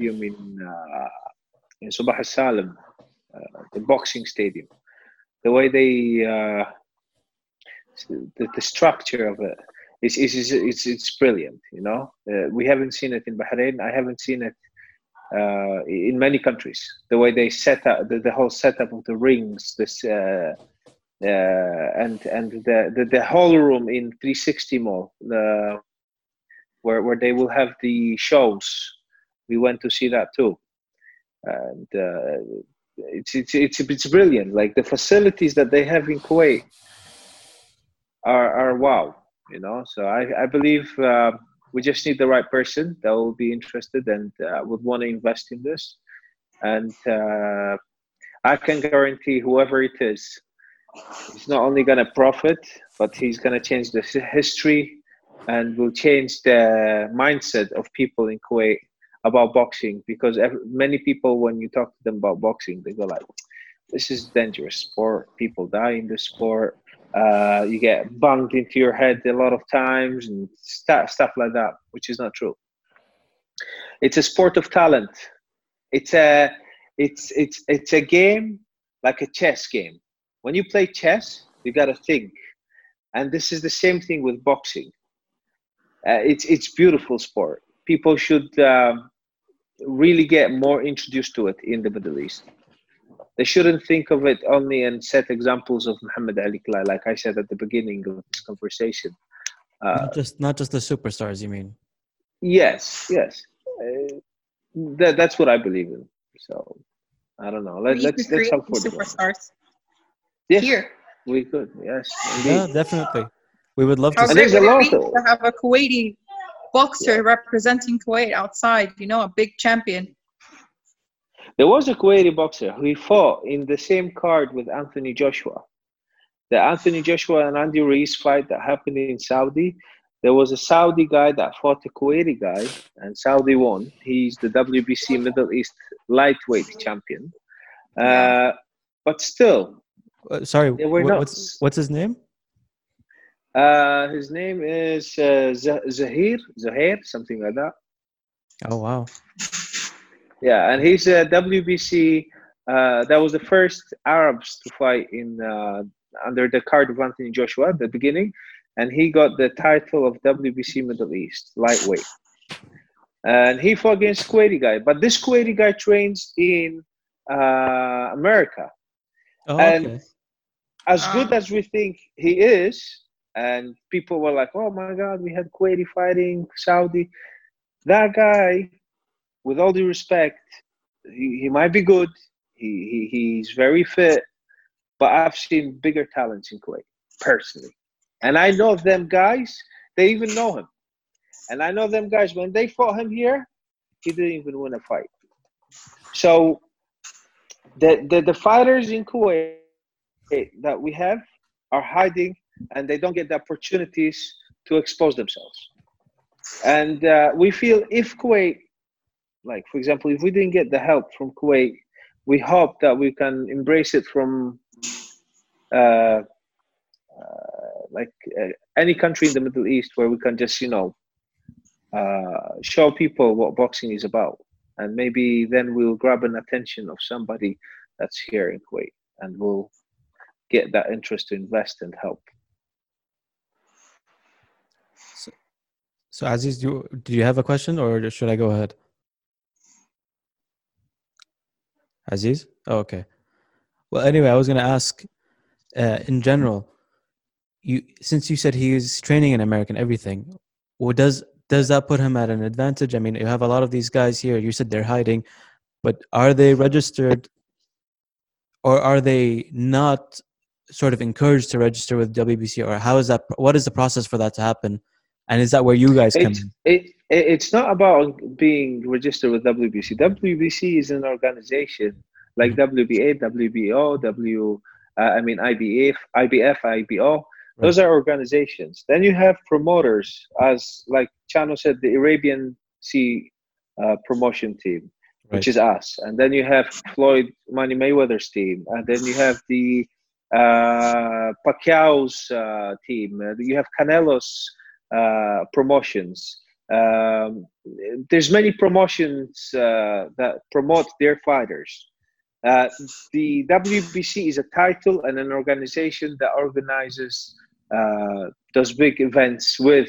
in Subah al-Salim, the boxing stadium. The way the structure of it it's brilliant. You know, we haven't seen it in Bahrain. I haven't seen it in many countries. The way they set up the whole setup of the rings, this and the whole room in 360 Mall, where they will have the shows. We went to see that too. and it's brilliant. Like the facilities that they have in Kuwait are wow, you know. So I believe we just need the right person that will be interested and would want to invest in this. And I can guarantee whoever it is, he's not only going to profit, but he's going to change the history and will change the mindset of people in Kuwait about boxing. Because many people, when you talk to them about boxing, they go like, this is dangerous sport. People die in the sport. You get banged into your head a lot of times and stuff like that, which is not true. It's a sport of talent. It's a game like a chess game. When you play chess, you got to think, and this is the same thing with boxing. It's beautiful sport. People should really get more introduced to it in the Middle East. They shouldn't think of it only and set examples of Muhammad Ali Klai, like I said at the beginning of this conversation. Not just the superstars, you mean? Yes. That's what I believe in. So I don't know. Let's help for superstars. Yes, here. We could. Yes, indeed. Yeah, definitely. We would love to. How And great there's a would lot it be of- to have a Kuwaiti boxer representing Kuwait outside? You know, a big champion. There was a Kuwaiti boxer who fought in the same card with Anthony Joshua. The Anthony Joshua and Andy Ruiz fight that happened in Saudi. There was a Saudi guy that fought a Kuwaiti guy, and Saudi won. He's the WBC Middle East lightweight champion. But still, Sorry, they were what's his name? his name is Zahir, something like that. Oh wow. Yeah, and he's a WBC. That was the first Arabs to fight in under the card of Anthony Joshua at the beginning, and he got the title of WBC Middle East lightweight. And he fought against Kuwaiti guy, but this Kuwaiti guy trains in America. Oh, And okay. as good as we think he is, and people were like, "Oh my God, we had Kuwaiti fighting Saudi." That guy, with all due respect, he might be good. He's very fit, but I've seen bigger talents in Kuwait personally, and I know them guys. They even know him, and I know them guys. When they fought him here, he didn't even win a fight. So the fighters in Kuwait that we have are hiding, and they don't get the opportunities to expose themselves. And we feel if Kuwait, like for example, if we didn't get the help from Kuwait, we hope that we can embrace it from any country in the Middle East, where we can just, show people what boxing is about. And maybe then we'll grab an attention of somebody that's here in Kuwait, and we'll get that interest to invest and help. So Aziz, do you have a question, or should I go ahead? Aziz? Oh, okay. Well, anyway, I was going to ask, in general, since you said he is training in America and everything, does that put him at an advantage? I mean, you have a lot of these guys here. You said they're hiding, but are they registered, or are they not sort of encouraged to register with WBC, or how is that? What is the process for that to happen? And is that where you guys come in? It's not about being registered with WBC. WBC is an organization like WBA, WBO, IBF, IBO. Those are organizations. Then you have promoters, as like Chano said, the Arabian Sea promotion team, which is us. And then you have Floyd Money Mayweather's team. And then you have the Pacquiao's team. You have Canelo's promotions. There's many promotions that promote their fighters. The WBC is a title and an organization that organizes those big events with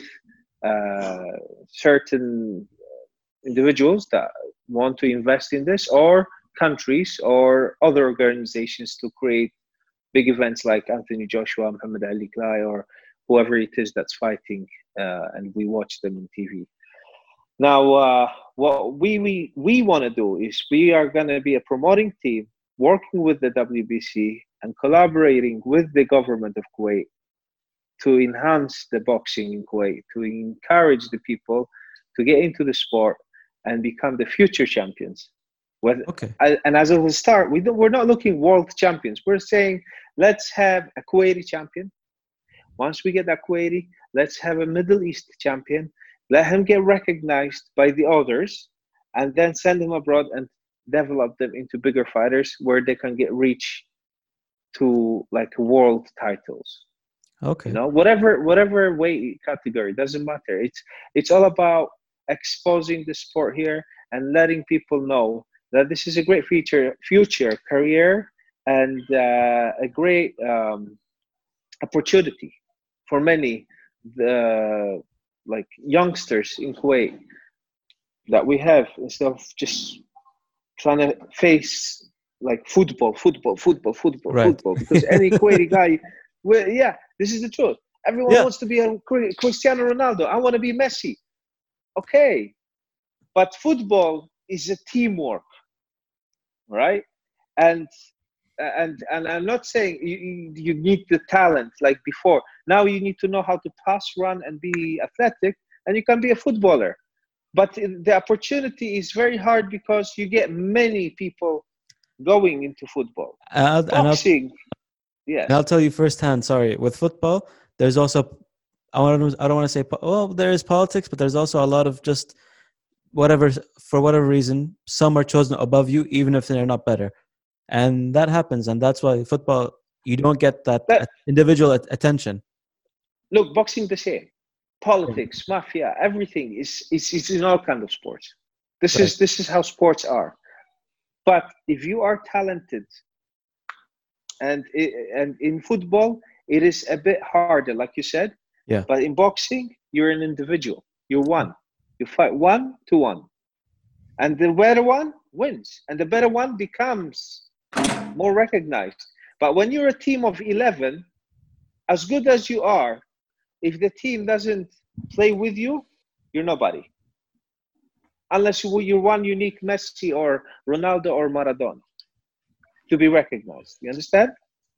certain individuals that want to invest in this, or countries or other organizations to create big events like Anthony Joshua, Muhammad Ali Klai, or whoever it is that's fighting, and we watch them on TV. Now, what we want to do is we are going to be a promoting team working with the WBC and collaborating with the government of Kuwait to enhance the boxing in Kuwait, to encourage the people to get into the sport and become the future champions. Okay. And as of the start, we're not looking world champions. We're saying, let's have a Kuwaiti champion. Once we get that Kuwaiti, let's have a Middle East champion. Let him get recognized by the others, and then send him abroad and develop them into bigger fighters where they can get reach to like world titles. Okay. You know, whatever weight category, doesn't matter. It's all about exposing the sport here and letting people know that this is a great future career and a great opportunity for many like youngsters in Kuwait that we have, instead of just trying to face like football, Right. because any Kuwaiti guy, well, yeah, this is the truth. Everyone wants to be a Cristiano Ronaldo. I want to be Messi. Okay, but football is a teamwork, right? And I'm not saying you need the talent like before. Now you need to know how to pass, run, and be athletic, and you can be a footballer. But the opportunity is very hard because you get many people going into football. Boxing, yes. And I'll tell you firsthand, sorry, with football, there's also, I don't want to say, well, there is politics, but there's also a lot of just for whatever reason, some are chosen above you, even if they're not better. And that happens. And that's why football, you don't get that individual attention. Look, boxing the same. Politics, mafia, everything is in all kinds of sports. This is how sports are. But if you are talented, and in football, it is a bit harder, like you said. Yeah. But in boxing, you're an individual. You're one. You fight 1-1. And the better one wins. And the better one becomes more recognized. But when you're a team of 11, as good as you are, if the team doesn't play with you, you're nobody. Unless you're one unique Messi or Ronaldo or Maradona to be recognized. You understand?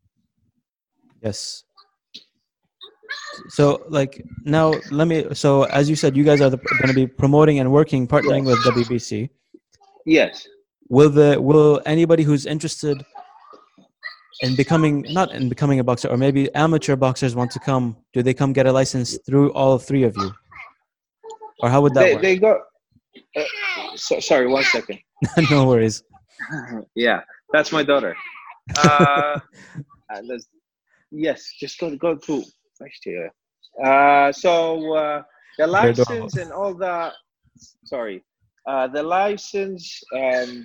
Yes. So, like, now so as you said, you guys are going to be promoting and partnering with WBC. Yes. Will anybody who's interested in becoming a boxer, or maybe amateur boxers want to come, do they come get a license through all three of you? Or how would that work? They go, sorry, 1 second. No worries. Yeah, that's my daughter. Yes, just go to next year. So the license and all that. Sorry, the license and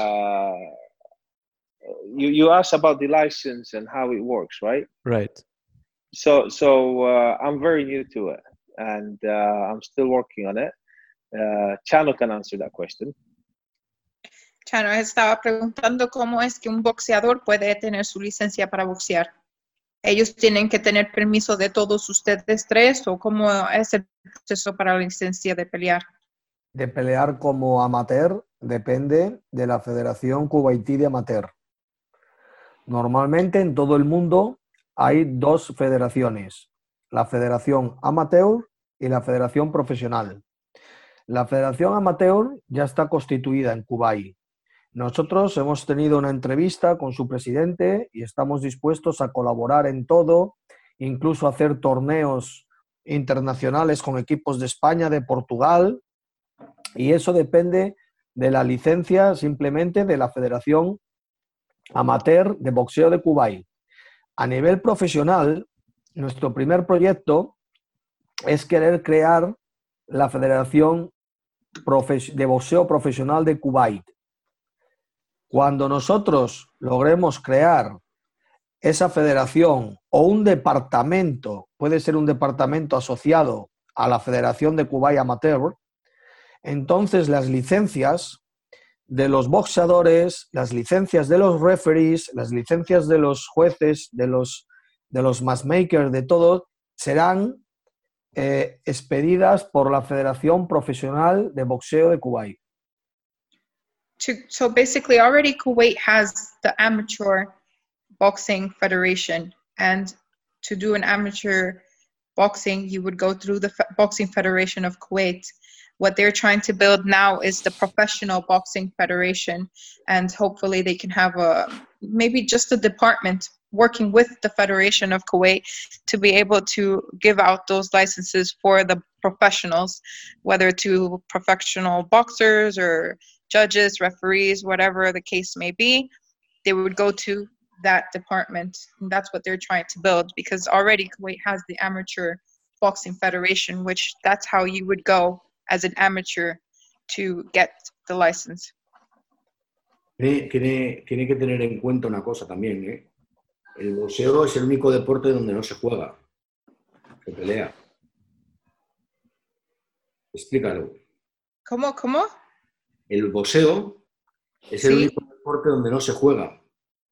you asked about the license and how it works, right? Right. So I'm very new to it, and I'm still working on it. Chano can answer that question. Chano estaba preguntando cómo es que un boxeador puede tener su licencia para boxear. ¿Ellos tienen que tener permiso de todos ustedes tres o cómo es el proceso para la licencia de pelear? De pelear como amateur depende de la Federación Kuwaití de Amateur. Normalmente en todo el mundo hay dos federaciones, la Federación Amateur y la Federación Profesional. La Federación Amateur ya está constituida en Kuwait. Nosotros hemos tenido una entrevista con su presidente y estamos dispuestos a colaborar en todo, incluso hacer torneos internacionales con equipos de España, de Portugal, y eso depende de la licencia simplemente de la Federación Amateur de Boxeo de Kuwait. A nivel profesional, nuestro primer proyecto es querer crear la Federación de Boxeo Profesional de Kuwait. Cuando nosotros logremos crear esa federación o un departamento, puede ser un departamento asociado a la Federación de Kuwait Amateur, entonces las licencias de los boxeadores, las licencias de los referees, las licencias de los jueces, de los matchmakers, de todo, serán expedidas por la Federación Profesional de Boxeo de Kuwait. So basically, already Kuwait has the amateur boxing federation, and to do an amateur boxing, you would go through the Boxing Federation of Kuwait. What they're trying to build now is the Professional Boxing Federation, and hopefully they can have maybe just a department working with the Federation of Kuwait to be able to give out those licenses for the professionals, whether to professional boxers or judges, referees, whatever the case may be. They would go to that department, and that's what they're trying to build, because already Kuwait has the Amateur Boxing Federation, which that's how you would go as an amateur to get the license. Tiene que tener en cuenta una cosa también, ¿eh? El boxeo es el único deporte donde no se juega, se pelea. Explícalo. ¿Cómo? El boxeo es el único deporte donde no se juega.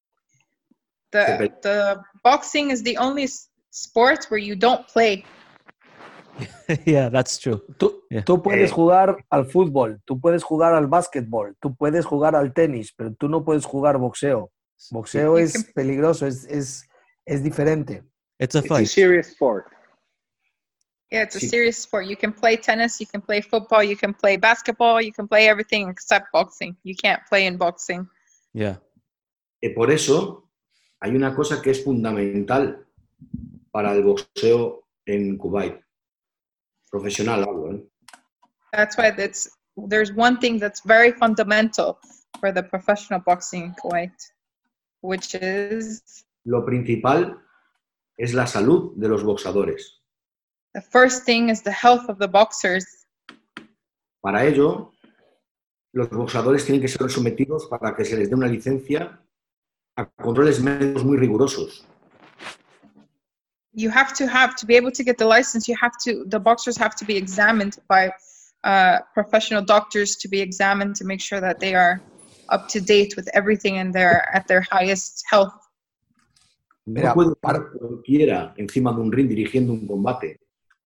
The boxing is the only sport where you don't play. Yeah, that's true. Tú puedes jugar al fútbol, tú puedes jugar al básquetbol, tú puedes jugar al tenis, pero tú no puedes jugar boxeo. Boxeo es peligroso, es diferente. It's a fight. It's a serious sport. Yeah, it's a serious sport. You can play tennis, you can play football, you can play basketball, you can play everything except boxing. You can't play in boxing. Yeah. Por eso hay una cosa que es fundamental para el boxeo en Kuwait. Profesional hablo, ¿eh? That's why there's one thing that's very fundamental for the professional boxing in Kuwait, which is... Lo principal es la salud de los boxadores. The first thing is the health of the boxers. Para ello, los boxadores tienen que ser sometidos para que se les dé una licencia a controles médicos muy rigurosos. You have to be able to get the license. The boxers have to be examined by professional doctors, to be examined to make sure that they are up to date with everything and they're at their highest health. No puede estar cualquiera encima de un ring dirigiendo un combate.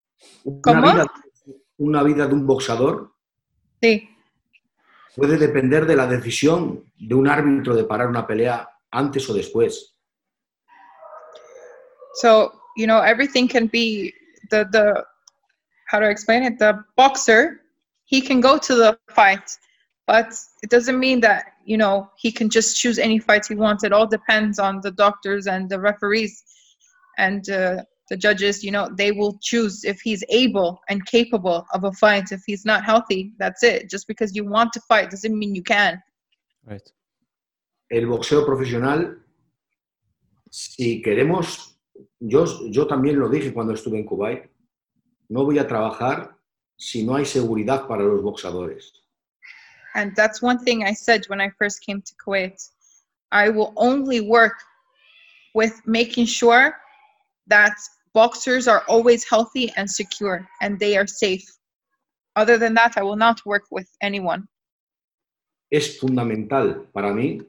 Una vida de un boxador puede depender de la decisión de un árbitro de parar una pelea antes o después. So, everything can be how to explain it? The boxer, he can go to the fight, but it doesn't mean that, he can just choose any fight he wants. It all depends on the doctors and the referees and the judges. They will choose if he's able and capable of a fight. If he's not healthy, that's it. Just because you want to fight doesn't mean you can. Right. El boxeo profesional, si queremos, yo también lo dije cuando estuve en Kuwait, no voy a trabajar si no hay seguridad para los boxadores. And that's one thing I said when I first came to Kuwait. I will only work with making sure that boxers are always healthy and secure and they are safe. Other than that, I will not work with anyone. Es fundamental para mí.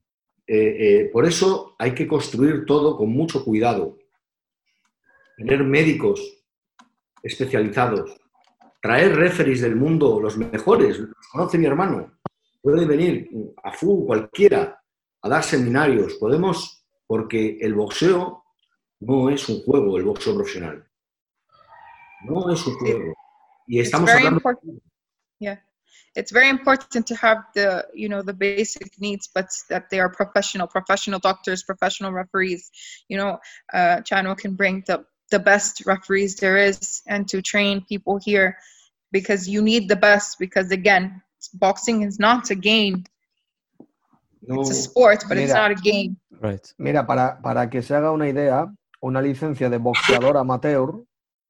Por eso hay que construir todo con mucho cuidado. Tener médicos especializados. Traer referees del mundo, los mejores, los conoce mi hermano. Puede venir Afu, cualquiera, a dar seminarios. Podemos, porque el boxeo no es un juego, el boxeo profesional. No es un juego. Y estamos hablando... Yeah. It's very important to have the basic needs, but that they are professional doctors, professional referees. Chano can bring the best referees there is and to train people here, because you need the best, because again, boxing is not a game. No, it's a sport, but it's not a game. Right. Mira, para que se haga una idea, una licencia de boxeador amateur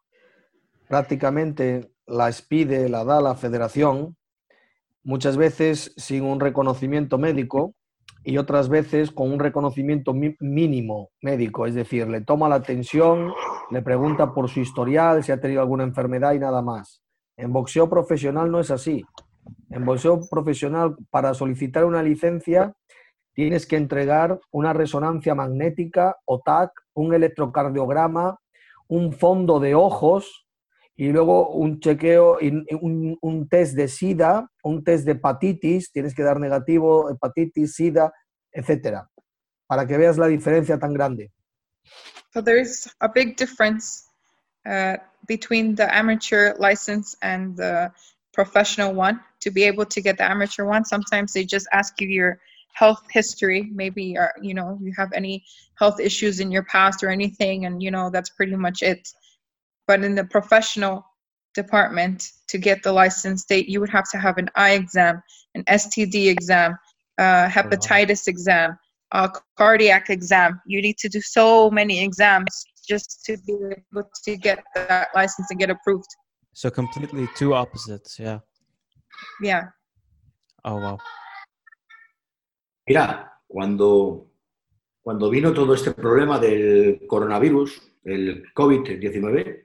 prácticamente la expide, la da la federación, muchas veces sin un reconocimiento médico y otras veces con un reconocimiento mínimo médico, es decir, le toma la tensión, le pregunta por su historial, si ha tenido alguna enfermedad y nada más. En boxeo profesional no es así. En boxeo profesional, para solicitar una licencia, tienes que entregar una resonancia magnética o TAC, un electrocardiograma, un fondo de ojos y luego un chequeo, un test de SIDA, un test de hepatitis, tienes que dar negativo, hepatitis, SIDA, etcétera, para que veas la diferencia tan grande. So there's a big difference between the amateur license and the professional one. To be able to get the amateur one, sometimes they just ask you your health history. Maybe you have any health issues in your past or anything, and that's pretty much it. But in the professional department, to get the license, you would have to have an eye exam, an STD exam, hepatitis exam, a cardiac exam. You need to do so many exams just to be able to get that license and get approved. So completely two opposites, yeah. Yeah. Oh, wow. Mira, cuando vino todo este problema del coronavirus, el COVID-19,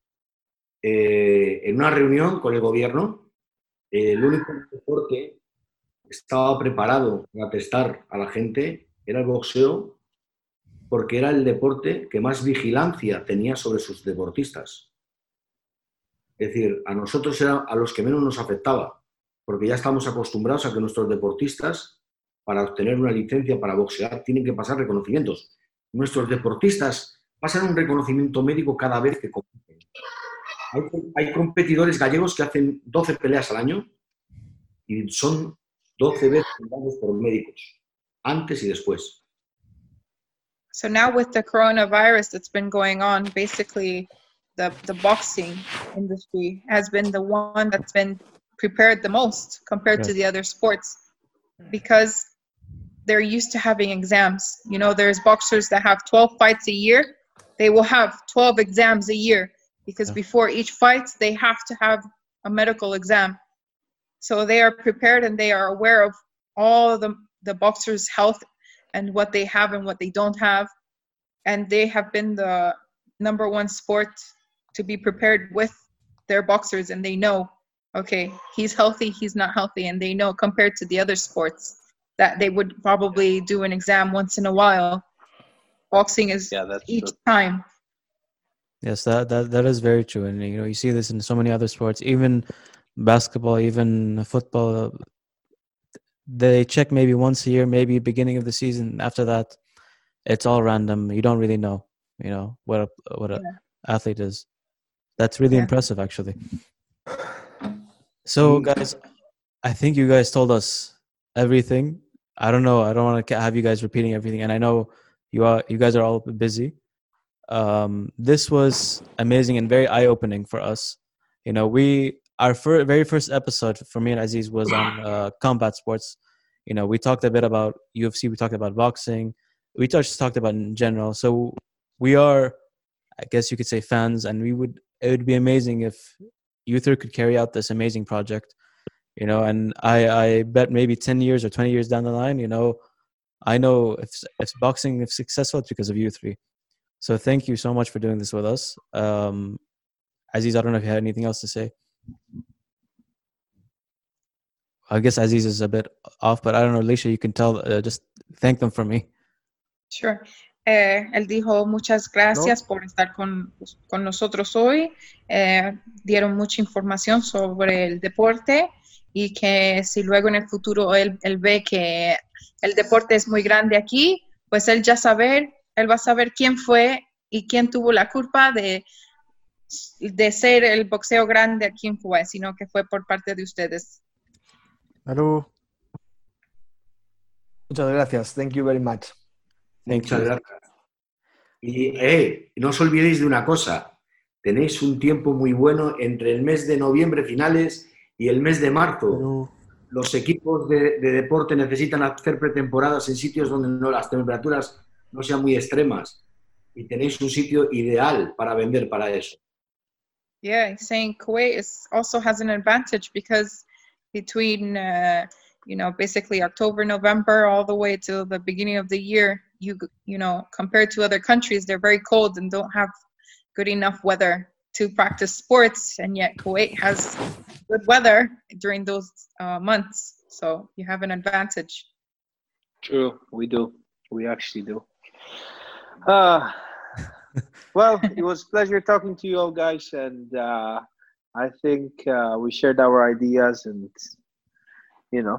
en una reunión con el gobierno, el único deporte que estaba preparado para testar a la gente era el boxeo, porque era el deporte que más vigilancia tenía sobre sus deportistas. Es decir, a nosotros era a los que menos nos afectaba, porque ya estamos acostumbrados a que nuestros deportistas, para obtener una licencia para boxear, tienen que pasar reconocimientos. Nuestros deportistas pasan un reconocimiento médico cada vez que compiten. Hay competidores gallegos que hacen 12 peleas al año y son 12 veces juzgados por médicos, antes y después. So now with the coronavirus that's been going on, basically the boxing industry has been the one that's been prepared the most compared to the other sports, because they're used to having exams. There's boxers that have 12 fights a year. They will have 12 exams a year, because before each fight, they have to have a medical exam. So they are prepared and they are aware of all the boxers' health and what they have and what they don't have. And they have been the number one sport to be prepared with their boxers, and they know, okay, he's healthy, he's not healthy, and they know compared to the other sports that they would probably do an exam once in a while. Boxing is each time. Yes, that is very true, and you see this in so many other sports, even basketball, even football. They check maybe once a year, maybe beginning of the season. After that, it's all random. You don't really know, what a athlete is. That's really impressive, actually. So, guys, I think you guys told us everything. I don't know. I don't want to have you guys repeating everything, and I know you guys are all busy. This was amazing and very eye-opening for us. Our very first episode for me and Aziz was on combat sports. We talked a bit about UFC. We talked about boxing. We just talked about in general. So we are, I guess you could say, fans, and it would be amazing if you three could carry out this amazing project. And I bet maybe 10 years or 20 years down the line, I know if boxing is successful, it's because of you three. So thank you so much for doing this with us. Aziz, I don't know if you had anything else to say. I guess Aziz is a bit off, but I don't know, Alicia, you can tell, just thank them for me. Sure. Él dijo muchas gracias por estar con nosotros hoy. Dieron mucha información sobre el deporte y que si luego en el futuro él ve que el deporte es muy grande aquí, pues él va a saber quién fue y quién tuvo la culpa de ser el boxeo grande aquí en Kuwait, sino que fue por parte de ustedes. Hello. Muchas gracias. Thank you very much. Muchas gracias. Y no os olvidéis de una cosa. Tenéis un tiempo muy bueno entre el mes de noviembre finales y el mes de marzo. Hello. Los equipos de deporte necesitan hacer pretemporadas en sitios donde las temperaturas no sean muy extremas. Y tenéis un sitio ideal para vender para eso. Yeah, he's saying Kuwait also has an advantage because between, basically October, November, all the way to the beginning of the year, compared to other countries, they're very cold and don't have good enough weather to practice sports. And yet Kuwait has good weather during those months. So you have an advantage. True, we do. We actually do. Well, it was a pleasure talking to you all guys, and I think we shared our ideas, and you know,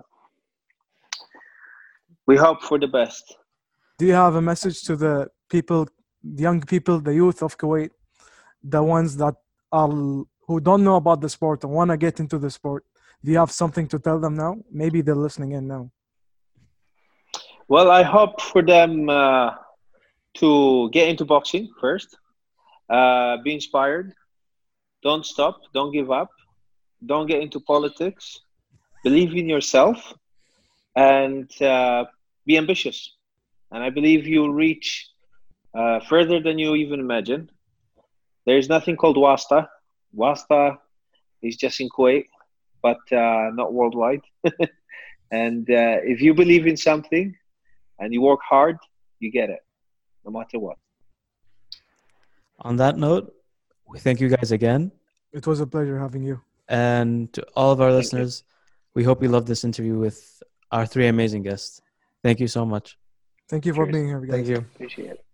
we hope for the best. Do you have a message to the people, the young people, the youth of Kuwait, the ones that are who don't know about the sport and want to get into the sport? Do you have something to tell them now? Maybe they're listening in now. Well, I hope for them to get into boxing first. Be inspired. Don't stop. Don't give up. Don't get into politics. Believe in yourself and be ambitious. And I believe you'll reach further than you even imagine. There's nothing called Wasta. Wasta is just in Kuwait, but not worldwide. And if you believe in something and you work hard, you get it, no matter what. On that note, we thank you guys again. It was a pleasure having you. And to all of our Thank you. listeners, we hope you loved this interview with our three amazing guests. Thank you so much. Thank you for Cheers. being here, guys. Thank you. Appreciate it.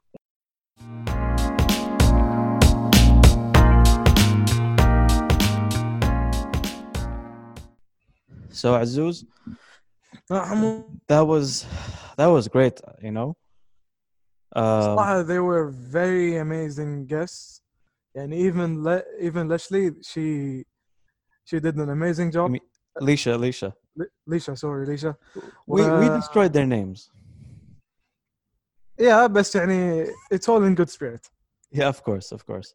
So Azuz, صراحة that was great, you know. they were very amazing guests. And even Leslie, she did an amazing job. mean- Alicia, Lisha. we destroyed their names. Yeah, بس يعني it's all in good spirit. Yeah, of course.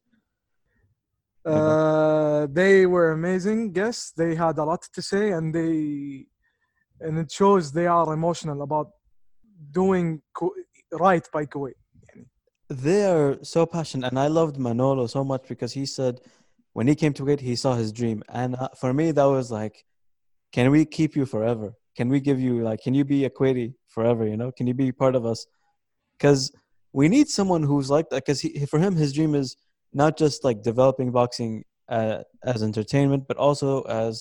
They were amazing guests. They had a lot to say, and it shows they are emotional about doing right by Kuwait. They are so passionate, and I loved Manolo so much because he said when he came to Kuwait, he saw his dream, and for me that was like, can we keep you forever? Can we give you can you be a Kuwaiti forever? You know, can you be part of us? Because we need someone who's like that. Because for him, his dream is not just like developing boxing as entertainment, but also as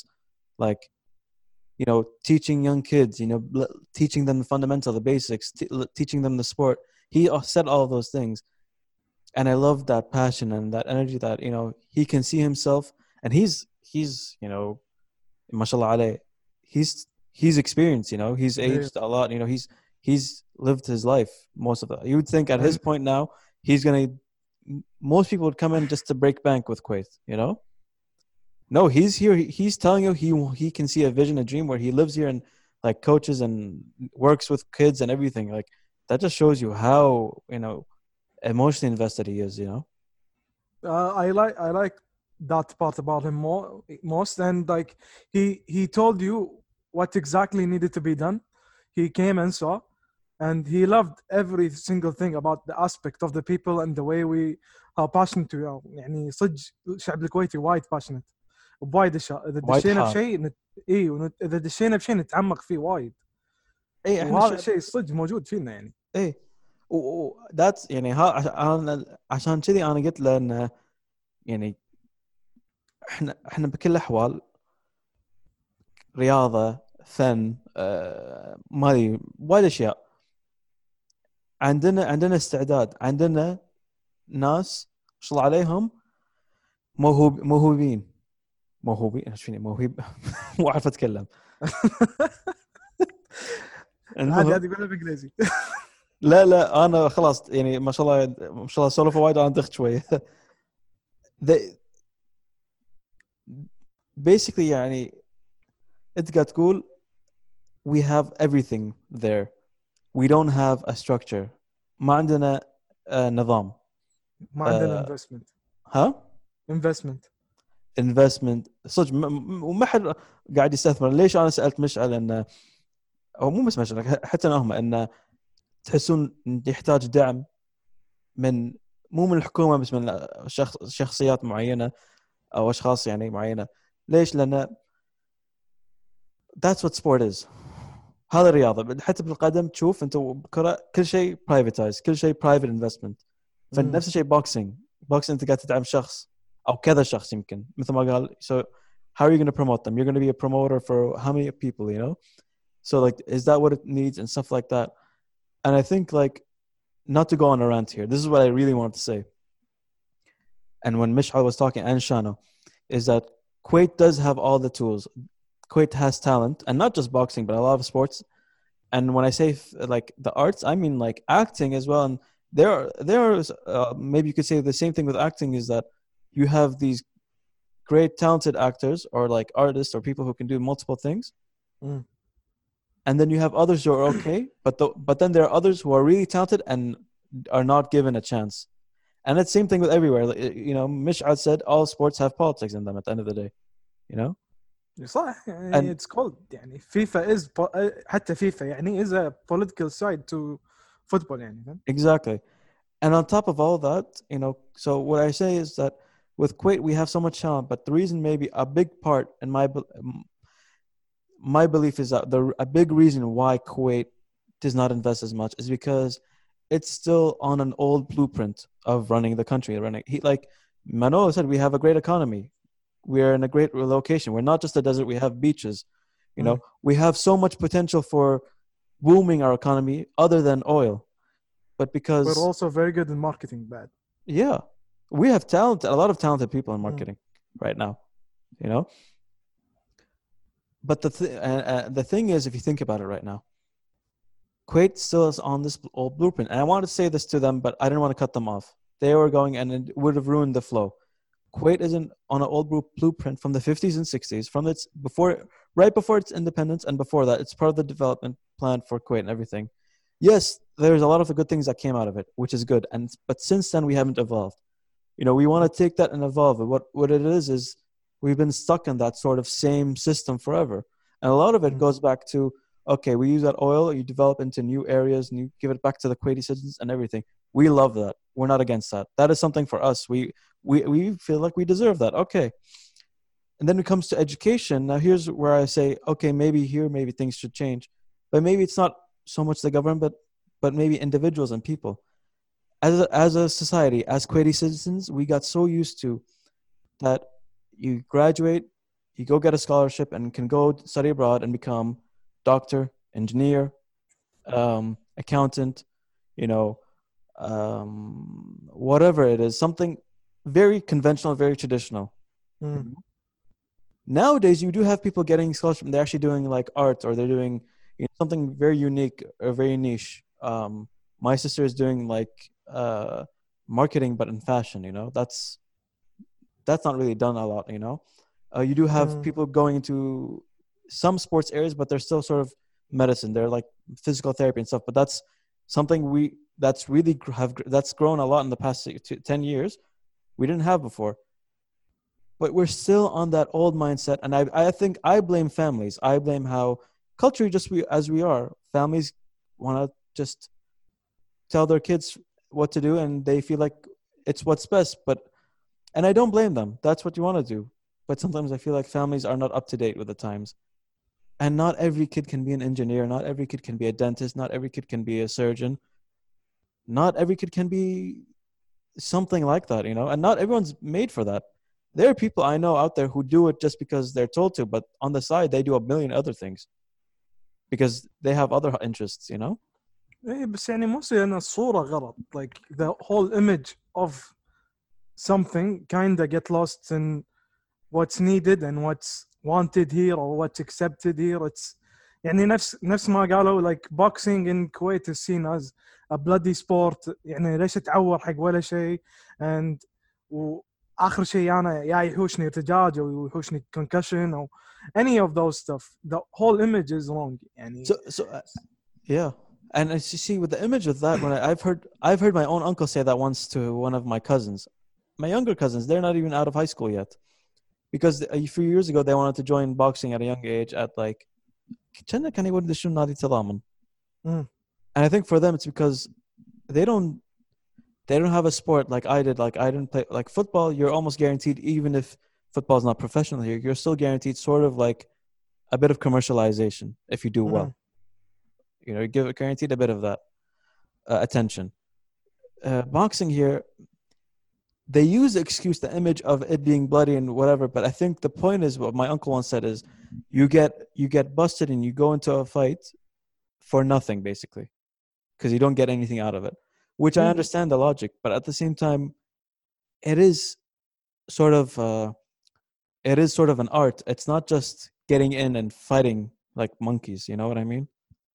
teaching young kids, teaching them the fundamental, the basics, teaching them the sport. He said all of those things. And I love that passion and that energy that, he can see himself, and he's mashallah alayh, he's experienced, he's aged a lot, he's lived his life, most of it. You would think at his point now, most people would come in just to break bank with Kuwait, No, he's here. He's telling you he can see a vision, a dream where he lives here and coaches and works with kids and everything. That just shows you how emotionally invested he is. I like that part about him most, and he told you what exactly needed to be done. He came and saw, and he loved every single thing about the aspect of the people and the way we are passionate we are. يعني صدق الشعب الكويتي وايد passionate ووايد اشياء. اذا دشينا بشيء اذا دشينا بشيء نتعمق فيه وايد. وهذا الشيء صدق موجود فينا يعني. that's عشان كذي انا قلت له انه احنا بكل الاحوال رياضه، فن، مالي وايد اشياء. عندنا استعداد، عندنا ناس ما شاء الله عليهم موهوبين ايش فيني موهوب مو عارف اتكلم. عادي اقولها بالانجليزي. لا انا خلاص ما شاء الله سولف وايد وانا دخت شويه. basically انت قاعد تقول we have everything there, we don't have a structure, ما عندنا نظام، ما عندنا investment صدق وما حد قاعد يستثمر. ليش انا سالت مشعل انه او مو بس مشعل حتى هم انه تحسون يحتاج دعم مو من الحكومه بس من شخصيات معينه او اشخاص معينه. ليش؟ لان that's what sport is. هذا الرياضه. حتى بالقدم تشوف انت بكره كل شيء privatized، كل شيء private investment. فنفس الشيء boxing انت قاعد تدعم شخص او كذا شخص يمكن مثل ما قال. so how are you going to promote them? You're going to be a promoter for how many people, so is that what it needs and stuff like that. And I think not to go on a rant here, this is what I really wanted to say. And when Mishal was talking, and Shano, is that Kuwait does have all the tools. Kuwait has talent, and not just boxing, but a lot of sports. And when I say like the arts, I mean like acting as well. And there's maybe you could say the same thing with acting, is that you have these great talented actors or like artists or people who can do multiple things. Mm. And then you have others who are okay, but then there are others who are really talented and are not given a chance. And it's the same thing with everywhere. You know, Mish'ad said all sports have politics in them at the end of the day. You know? صح يعني it's called يعني FIFA is حتى FIFA يعني is a political side to football يعني. Exactly. And on top of all that, you know, so what I say is that with Kuwait we have so much talent, but the reason maybe a big part in my belief is that a big reason why Kuwait does not invest as much is because it's still on an old blueprint of running the country. Like Manolo said, we have a great economy. We're in a great location. We're not just a desert. We have beaches. You know, we have so much potential for booming our economy other than oil. But because we're also very good in marketing, bad. Yeah. We have talent, a lot of talented people in marketing right now, you know. But the thing is, if you think about it right now, Kuwait still is on this old blueprint. And I wanted to say this to them, but I didn't want to cut them off. They were going, and it would have ruined the flow. Kuwait isn't on an old blueprint from the 50s and 60s, from its right before its independence, and before that, it's part of the development plan for Kuwait and everything. Yes, there's a lot of the good things that came out of it, which is good. But since then, we haven't evolved. You know, we want to take that and evolve it. What it is we've been stuck in that sort of same system forever. And a lot of it goes back to, okay, we use that oil, you develop into new areas, and you give it back to the Kuwaiti citizens and everything. We love that. We're not against that. That is something for us. We feel like we deserve that. Okay. And then it comes to education. Now, here's where I say, okay, maybe things should change. But maybe it's not so much the government, but maybe individuals and people. As a society, as Kuwaiti citizens, we got so used to that you graduate, you go get a scholarship and can go study abroad and become doctor, engineer, accountant, you know, whatever it is, something very conventional, very traditional. Nowadays, you do have people getting scholarships. They're actually doing like art, or they're doing something very unique or very niche. My sister is doing like marketing, but in fashion. You know, that's not really done a lot. You know, you do have people going into some sports areas, but they're still sort of medicine. They're like physical therapy and stuff. But that's something that's grown a lot in the past 10 years. We didn't have before. But we're still on that old mindset. And I think I blame families. I blame how culturally as we are, families want to just tell their kids what to do, and they feel like it's what's best. And I don't blame them. That's what you want to do. But sometimes I feel like families are not up to date with the times. And not every kid can be an engineer. Not every kid can be a dentist. Not every kid can be a surgeon. Not every kid can be something like that, you know. And not everyone's made for that. There are people I know out there who do it just because they're told to, but on the side, they do a million other things because they have other interests, you know? بس يعني mostly أنا الصورة غلط. Like the whole image of something kind of get lost in what's needed and what's wanted here or what's accepted here. It's يعني نفس ما قالوا like boxing in Kuwait is seen as a bloody sport. يعني ليش تعور حق ولا شيء and آخر شيء أنا يحوشني ارتجاج أو يحوشني concussion أو any of those stuff. The whole image is wrong. يعني yeah. And as you see with the image of that, when I've heard my own uncle say that once to one of my cousins, my younger cousins, they're not even out of high school yet, because a few years ago they wanted to join boxing at a young age at like, and I think for them it's because they don't have a sport like I did. Like I didn't play like football. You're almost guaranteed, even if football is not professional here, you're still guaranteed sort of like a bit of commercialization if you do well. You know, you guaranteed a bit of that attention. Boxing here, they use the excuse, the image of it being bloody and whatever. But I think the point is, what my uncle once said is, you get busted and you go into a fight for nothing, basically, because you don't get anything out of it. which I Yeah. understand the logic, but at the same time, it is sort of an art. It's not just getting in and fighting like monkeys. You know what I mean?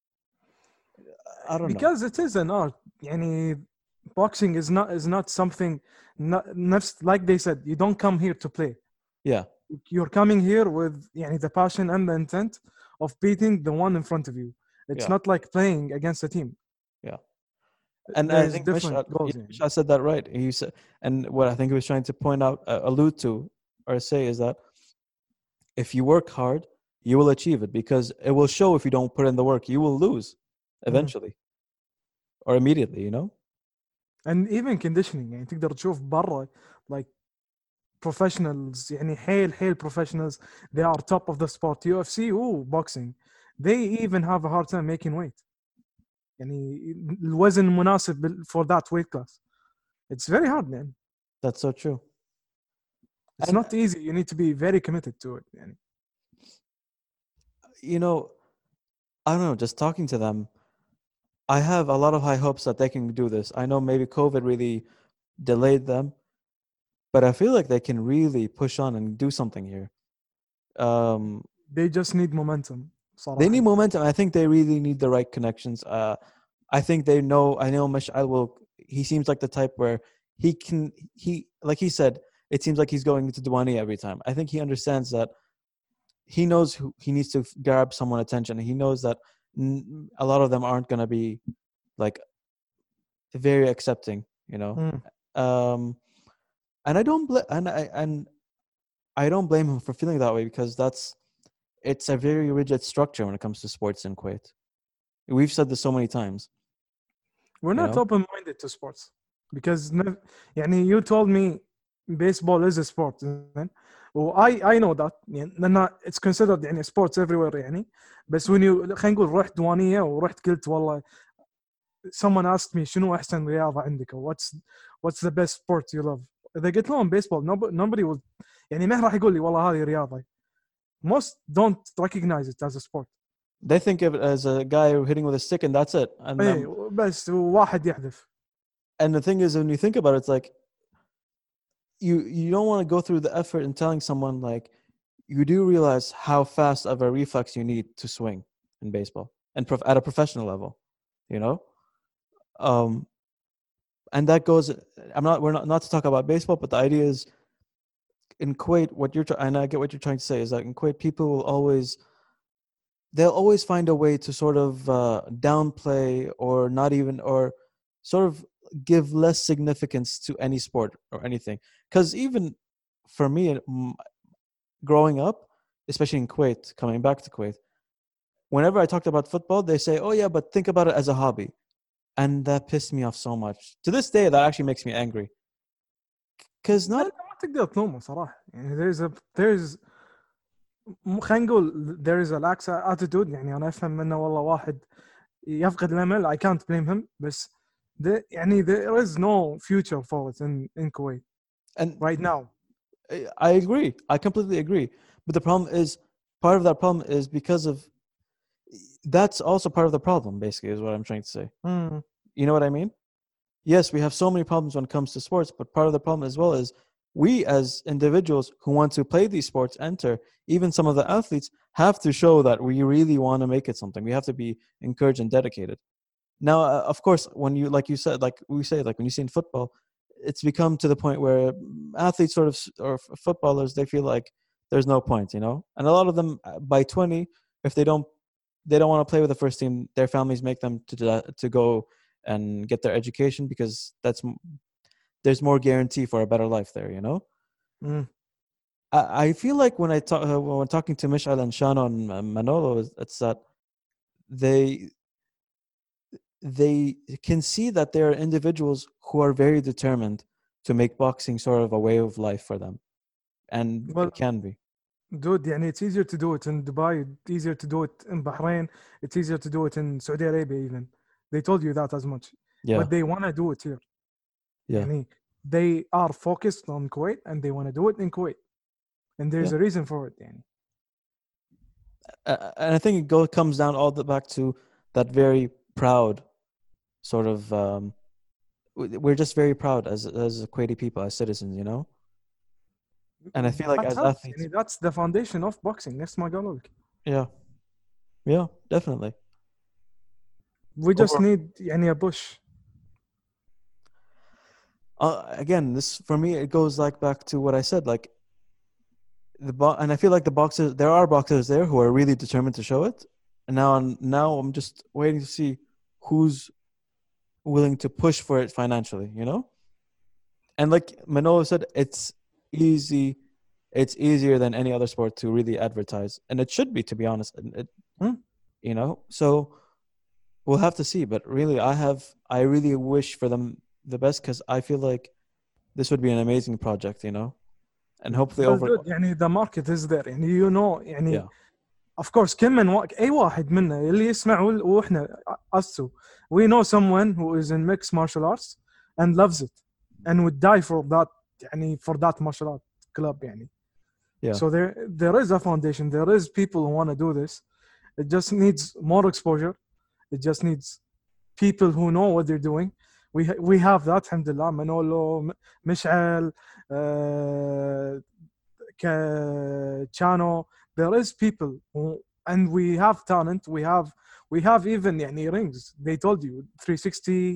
I don't know. Because it is an art. Yani, boxing is not something. Like they said, you don't come here to play. Yeah, You're coming here with the passion and the intent of beating the one in front of you. It's Yeah. not like playing against a team. yeah. And I There's think different goals. Mishal said that right. He said, and what I think he was trying to point out, allude to, or say is that if you work hard, you will achieve it because it will show. If you don't put in the work, you will lose eventually or immediately. You know? And even conditioning يعني تقدر تشوف برا like professionals يعني حيل professionals, they are top of the sport. UFC boxing, they even have a hard time making weight. يعني الوزن المناسب for that weight class. It's very hard, man. That's so true. It's And- not easy. You need to be very committed to it. يعني. You know, I don't know. Just talking to them, I have a lot of high hopes that they can do this. I know maybe COVID really delayed them, but I feel like they can really push on and do something here. They just need momentum. صراحة. They need momentum. I think they really need the right connections. I think they know. I know Mash'al will. He seems like the type where he can. He like he said. It seems like he's going to Duani every time. I think he understands that. He knows who he needs to grab someone's attention. He knows that a lot of them aren't going to be like very accepting. You know. And I don't I don't blame him for feeling that way because it's a very rigid structure when it comes to sports in Kuwait. We've said this so many times. We're not know? open-minded to sports because يعني you told me baseball is a sport. I know that لأن it's considered يعني sports everywhere يعني. بس when you خلينا نقول رحت دوانية ورحت قلت والله someone asked me شنو أحسن رياضة عندك or what's the best sport you love. إذا قلت لهم baseball nobody will يعني ما راح يقول لي والله هذه رياضة. Most don't recognize it as a sport. They think of it as a guy hitting with a stick and that's it. And بس واحد يحذف. And the thing is, when you think about it, it's like you don't want to go through the effort in telling someone like you do realize how fast of a reflex you need to swing in baseball and at a professional level, you know. And that goes. We're not to talk about baseball, but the idea is in Kuwait. And I get what you're trying to say is that in Kuwait, people will they'll always find a way to sort of downplay or not even or sort of give less significance to any sport or anything. Because even for me, growing up, especially in Kuwait, coming back to Kuwait, whenever I talked about football, they say, "Oh yeah, but think about it as a hobby," and that pissed me off so much. To this day, that actually makes me angry. Because not ما تقدر تلومه صراحة. يعني there's خلينا نقول there is a lax attitude. يعني أنا أفهم منه والله واحد يفقد الأمل. I can't blame him. بس يعني there is no future for it in Kuwait and right now. I agree. I completely agree. But the problem is, part of that problem is because of. That's also part of the problem. Basically, is what I'm trying to say. You know what I mean? Yes, we have so many problems when it comes to sports, but part of the problem as well is we as individuals who want to play these sports, even some of the athletes have to show that we really want to make it something. We have to be encouraged and dedicated. Now, of course, when you, like you said, like we say, like when you see in football, it's become to the point where athletes or footballers, they feel like there's no point, you know? And a lot of them by 20, if they don't want to play with the first team, their families make them to go and get their education because there's more guarantee for a better life there, you know. I feel like when talking to Mish'al and Shano and Manolo, it's that they can see that there are individuals who are very determined to make boxing sort of a way of life for them, and it can be. Dude, يعني it's easier to do it in Dubai, it's easier to do it in Bahrain, it's easier to do it in Saudi Arabia even. They told you that as much. Yeah. But they want to do it here. Yeah. يعني they are focused on Kuwait and they want to do it in Kuwait. And there's a reason for it. يعني. And I think it comes down all the back to that very proud sort of we're just very proud as Kuwaiti people, as citizens, you know. And I feel like That as helps. athletes, يعني that's the foundation of boxing. نفس ما قالوا لك. yeah, definitely. We just Over- need يعني a push. Again, this for me it goes like back to what I said, like and I feel like the boxers, there are boxers there who are really determined to show it, and now I'm just waiting to see who's willing to push for it financially, you know. And like Manolo said, it's easier than any other sport to really advertise, and it should be, to be honest. You know, so we'll have to see. But really, I really wish for them the best, because I feel like this would be an amazing project, you know, and hopefully Well, over. dude, يعني the market is there. يعني you know يعني Yeah. of course كم من أي واحد منا اللي يسمع وإحنا us we know someone who is in mixed martial arts and loves it and would die for that يعني for that martial art club يعني. Yeah. So there is a foundation. There is people who want to do this. It just needs more exposure. It just needs people who know what they're doing. We have that, alhamdulillah. Manolo, Mishal, Chano. There is people who, and we have talent. We have even يعني rings. They told you 360.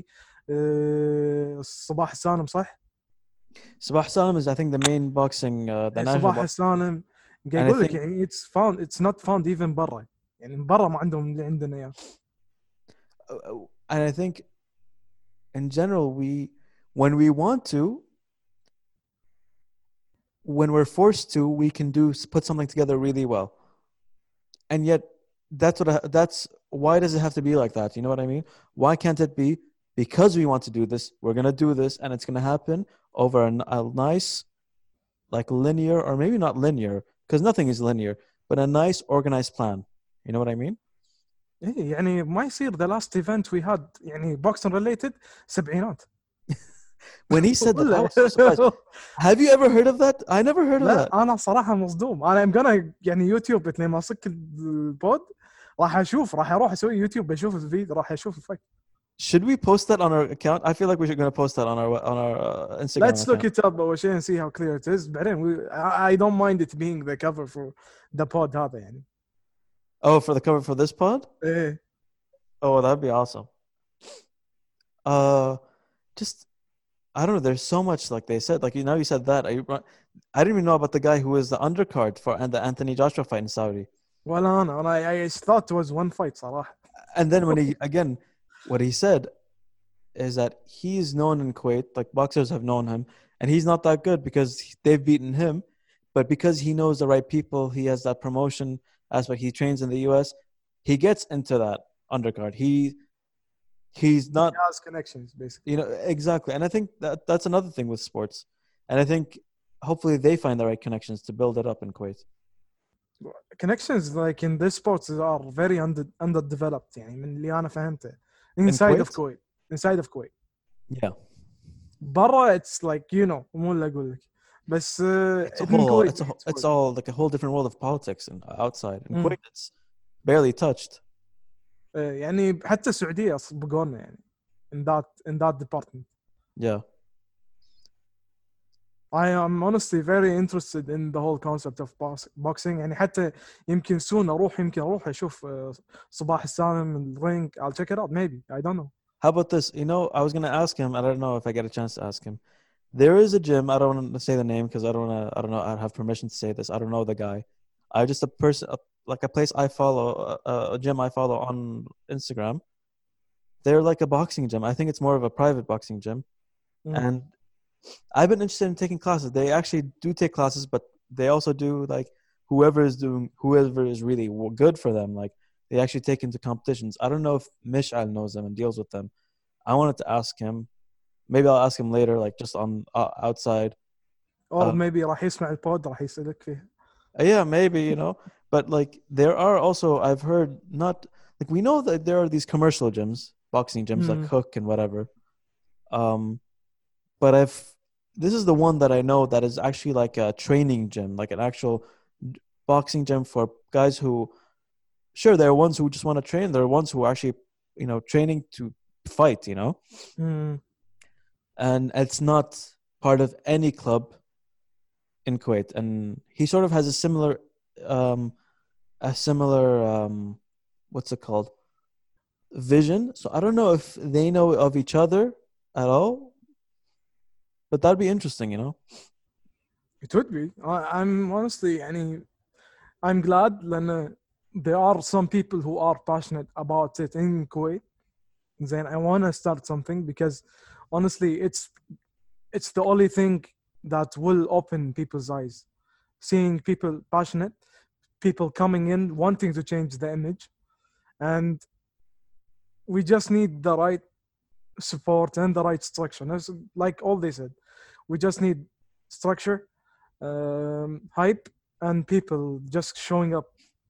صباح السالم صح؟ Sabah Salam is, I think, the main boxing, the national صباح السالم قاعد يقول لك يعني it's not found even برا يعني برا ما عندهم اللي عندنا اياه. And I think in general, when we want to, when we're forced to, we can put something together really well. And yet that's why does it have to be like that? You know what I mean? Why can't it be, because we want to do this, we're going to do this, and it's going to happen over a nice, like linear, or maybe not linear, because nothing is linear, but a nice organized plan. You know what I mean? إيه يعني ما يصير the last event we had يعني boxing related سبعينات. When he said that, I was so surprised. Have you ever heard of that? I never heard of that. لا أنا صراحة مصدوم. أنا I'm gonna يعني يوتيوب لما ماسك البود راح أروح أسوي يوتيوب بشوف الفيديو راح أشوف الفك. Should we post that on our account? I feel like we're going to post that on our Instagram. Let's look it up أول شيء and see how clear it is. بعدين I don't mind it being the cover for the pod هذا يعني. Oh, for the cover for this pod? إيه. Oh, that'd be awesome. Just, I don't know. There's so much, like they said, like you said that. I didn't even know about the guy who was the undercard for the Anthony Joshua fight in Saudi. ولا أنا I thought it was one fight صراحة. And then what he said is that he's known in Kuwait, like boxers have known him, and he's not that good because they've beaten him, but because he knows the right people, he has that promotion aspect. He trains in the US. He gets into that undercard. He's not. He has connections, basically. You know, exactly. And I think that's another thing with sports. And I think hopefully they find the right connections to build it up in Kuwait. Connections like in this sports are very underdeveloped يعني من اللي أنا فهمته. Inside of Kuwait. Inside of Kuwait. Yeah. برا it's like مو اللي أقول لك. بس it's all like a whole different world of politics and outside. In Kuwait it's barely touched. يعني حتى السعودية سبقونا يعني in that department. Yeah. I am honestly very interested in the whole concept of boxing. يعني حتى يمكن soon يمكن أروح أشوف صباح السالم الرينج. I'll check it out maybe. I don't know. How about this? I was going to ask him. I don't know if I get a chance to ask him. There is a gym. I don't want to say the name because I don't know. I have permission to say this. I don't know the guy. I just a person, like a place I follow, a gym I follow on Instagram. They're like a boxing gym. I think it's more of a private boxing gym. And I've been interested in taking classes. They actually do take classes, but they also do like whoever is really good for them. Like they actually take into competitions. I don't know if Mishal knows them and deals with them. I wanted to ask him. Maybe I'll ask him later, like just on outside. Or maybe راح يسمع البود راح يسألك فيه. Yeah, maybe, But like there are also, I've heard, not like we know that there are these commercial gyms, boxing gyms like Hook and whatever. But this is the one that I know that is actually like a training gym, like an actual boxing gym for guys who, sure, there are ones who just want to train. There are ones who are actually, training to fight, and it's not part of any club in Kuwait. And he sort of has um, a similar what's it called, vision. So I don't know if they know of each other at all, but that'd be interesting, you know. It would be. I'm honestly, I'm glad لأن there are some people who are passionate about it in Kuwait. Then I want to start something because honestly, it's the only thing that will open people's eyes. Seeing people passionate, people coming in wanting to change the image, and we just need the right support and the right structure. That's like all they said. We just need structure, hype, and people just showing up.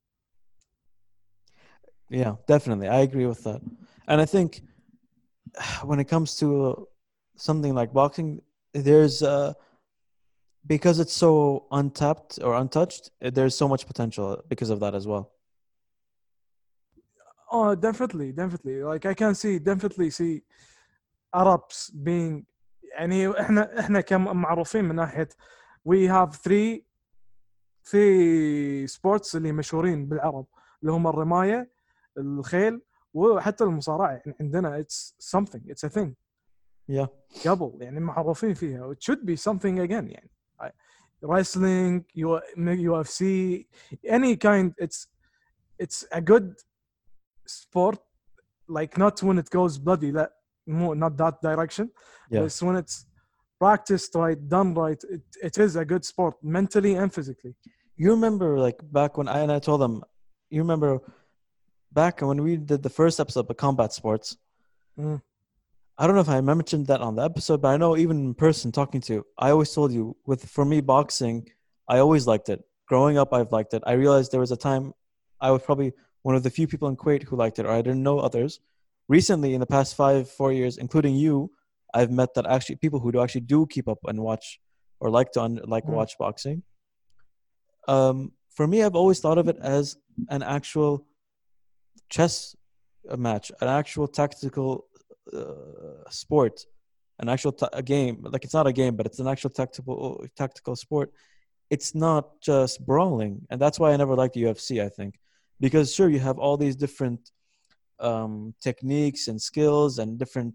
Yeah, definitely. I agree with that. And I think when it comes to something like boxing, there's because it's so untapped or untouched, there's so much potential because of that as well. Oh, definitely. Like I can definitely see Arabs being يعني احنا كمعروفين من ناحية we have three sports اللي مشهورين بالعرب اللي هم الرماية، الخيل، وحتى المصارعة. يعني عندنا it's a thing. Yeah. قبل يعني معروفين فيها. It should be something again يعني. Wrestling, UFC, any kind. It's a good sport, like not when it goes bloody, not that direction. Yeah. But when it's practiced right, done right, it is a good sport mentally and physically. You remember like back when I told them, you remember back when we did the first episode of combat sports. I don't know if I mentioned that on the episode, but I know even in person talking to you, I always told you for me boxing, I always liked it. Growing up, I've liked it. I realized there was a time I was probably one of the few people in Kuwait who liked it, or I didn't know others. Recently, in the past 4 years, including you, I've met that actually people who do keep up and watch or like to watch boxing. For me, I've always thought of it as an actual chess match, an actual tactical sport, an actual a game. Like it's not a game, but it's an actual tactical sport. It's not just brawling, and that's why I never liked the UFC. I think because sure you have all these different techniques and skills and different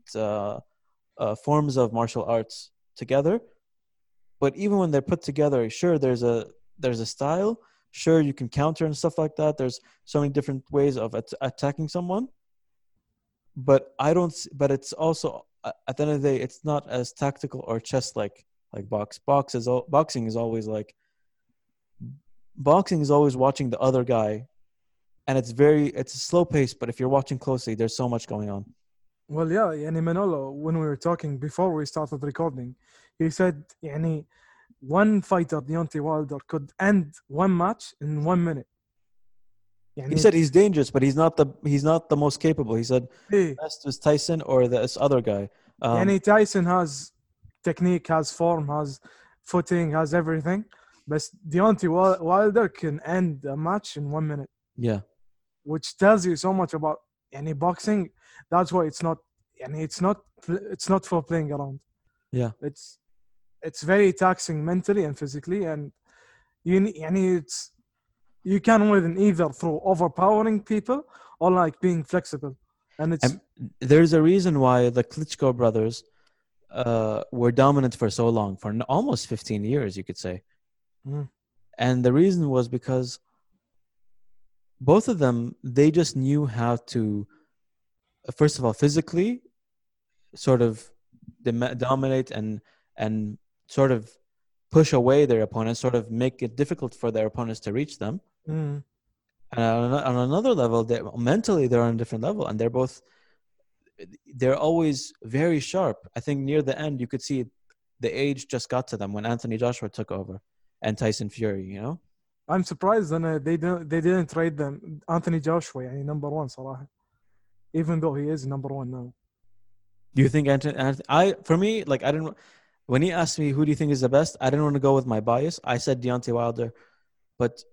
forms of martial arts together, but even when they're put together, sure there's a style. Sure, you can counter and stuff like that. There's so many different ways of attacking someone. But but it's also at the end of the day, it's not as tactical or chess like boxing is always like boxing is always watching the other guy, and it's a slow pace. But if you're watching closely, there's so much going on. Well, yeah, يعني Manolo, when we were talking before we started recording, he said يعني one fighter, Deontay Wilder, could end one match in 1 minute. He said he's dangerous, but he's not the most capable. He said best was Tyson or this other guy. Tyson has technique, has form, has footing, has everything. But Deontay Wilder can end a match in 1 minute. Yeah. Which tells you so much about boxing. That's why it's not for playing around. Yeah. It's very taxing mentally and physically, and you can win either through overpowering people or like being flexible. And there's a reason why the Klitschko brothers were dominant for so long, for almost 15 years, you could say. And the reason was because both of them, they just knew how to, first of all, physically sort of dominate and sort of push away their opponents, sort of make it difficult for their opponents to reach them. And on another level, mentally they're on a different level, and they're always very sharp. I think near the end you could see the age just got to them when Anthony Joshua took over and Tyson Fury, you know. I'm surprised they didn't trade them Anthony Joshua, number one صراحة, even though he is number one now. Do you think for me, like I didn't, when he asked me who do you think is the best, I didn't want to go with my bias. I said Deontay Wilder, but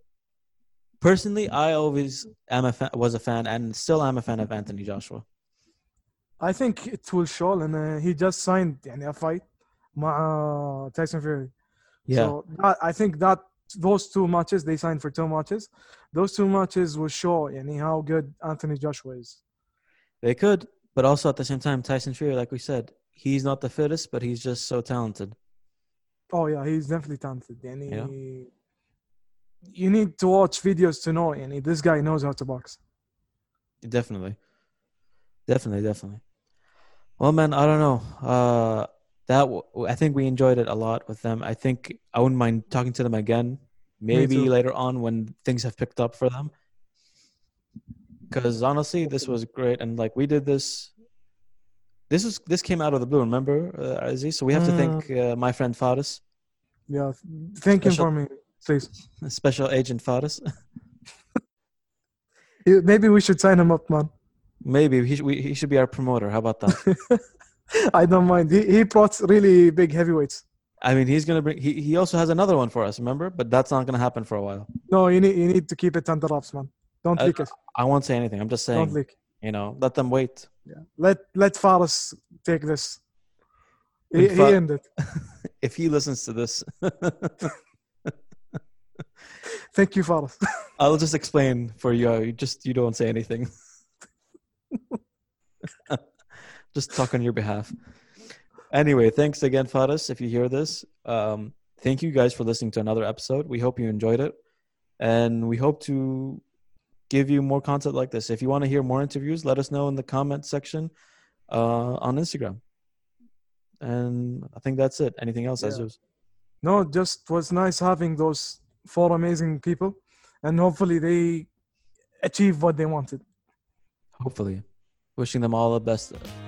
personally, I always was a fan and still am a fan of Anthony Joshua. I think it will show, and he just signed a fight مع Tyson Fury. Yeah. So I think that those two matches, they signed for 2 matches. Those 2 matches will show how good Anthony Joshua is. They could, but also at the same time, Tyson Fury, like we said, he's not the fittest, but he's just so talented. Oh yeah, he's definitely talented. You need to watch videos to know. This guy knows how to box. Definitely. Well, man, I don't know. I think we enjoyed it a lot with them. I think I wouldn't mind talking to them again, maybe later on when things have picked up for them. Because honestly, this was great, and like we did this. This came out of the blue. Remember, Aziz? So we have to thank my friend Faris. Yeah, thank him for me, please. Special Agent Faris. Maybe we should sign him up, man. Maybe he should be our promoter. How about that? I don't mind. He brought really big heavyweights. I mean, he's gonna bring. He also has another one for us. Remember, but that's not gonna happen for a while. No, you need to keep it under wraps, man. Don't leak it. I won't say anything. I'm just saying. Don't leak. Let them wait. Yeah. Let Faris take this. He ended. If he listens to this, thank you, Faris. I'll just explain for you. You don't say anything. Just talk on your behalf. Anyway, thanks again, Faris. If you hear this, thank you guys for listening to another episode. We hope you enjoyed it, and we hope to give you more content like this. If you want to hear more interviews, let us know in the comment section on Instagram. And I think that's it. Anything else, Aziz? No, just was nice having those 4 amazing people, and hopefully they achieve what they wanted. Hopefully. Wishing them all the best.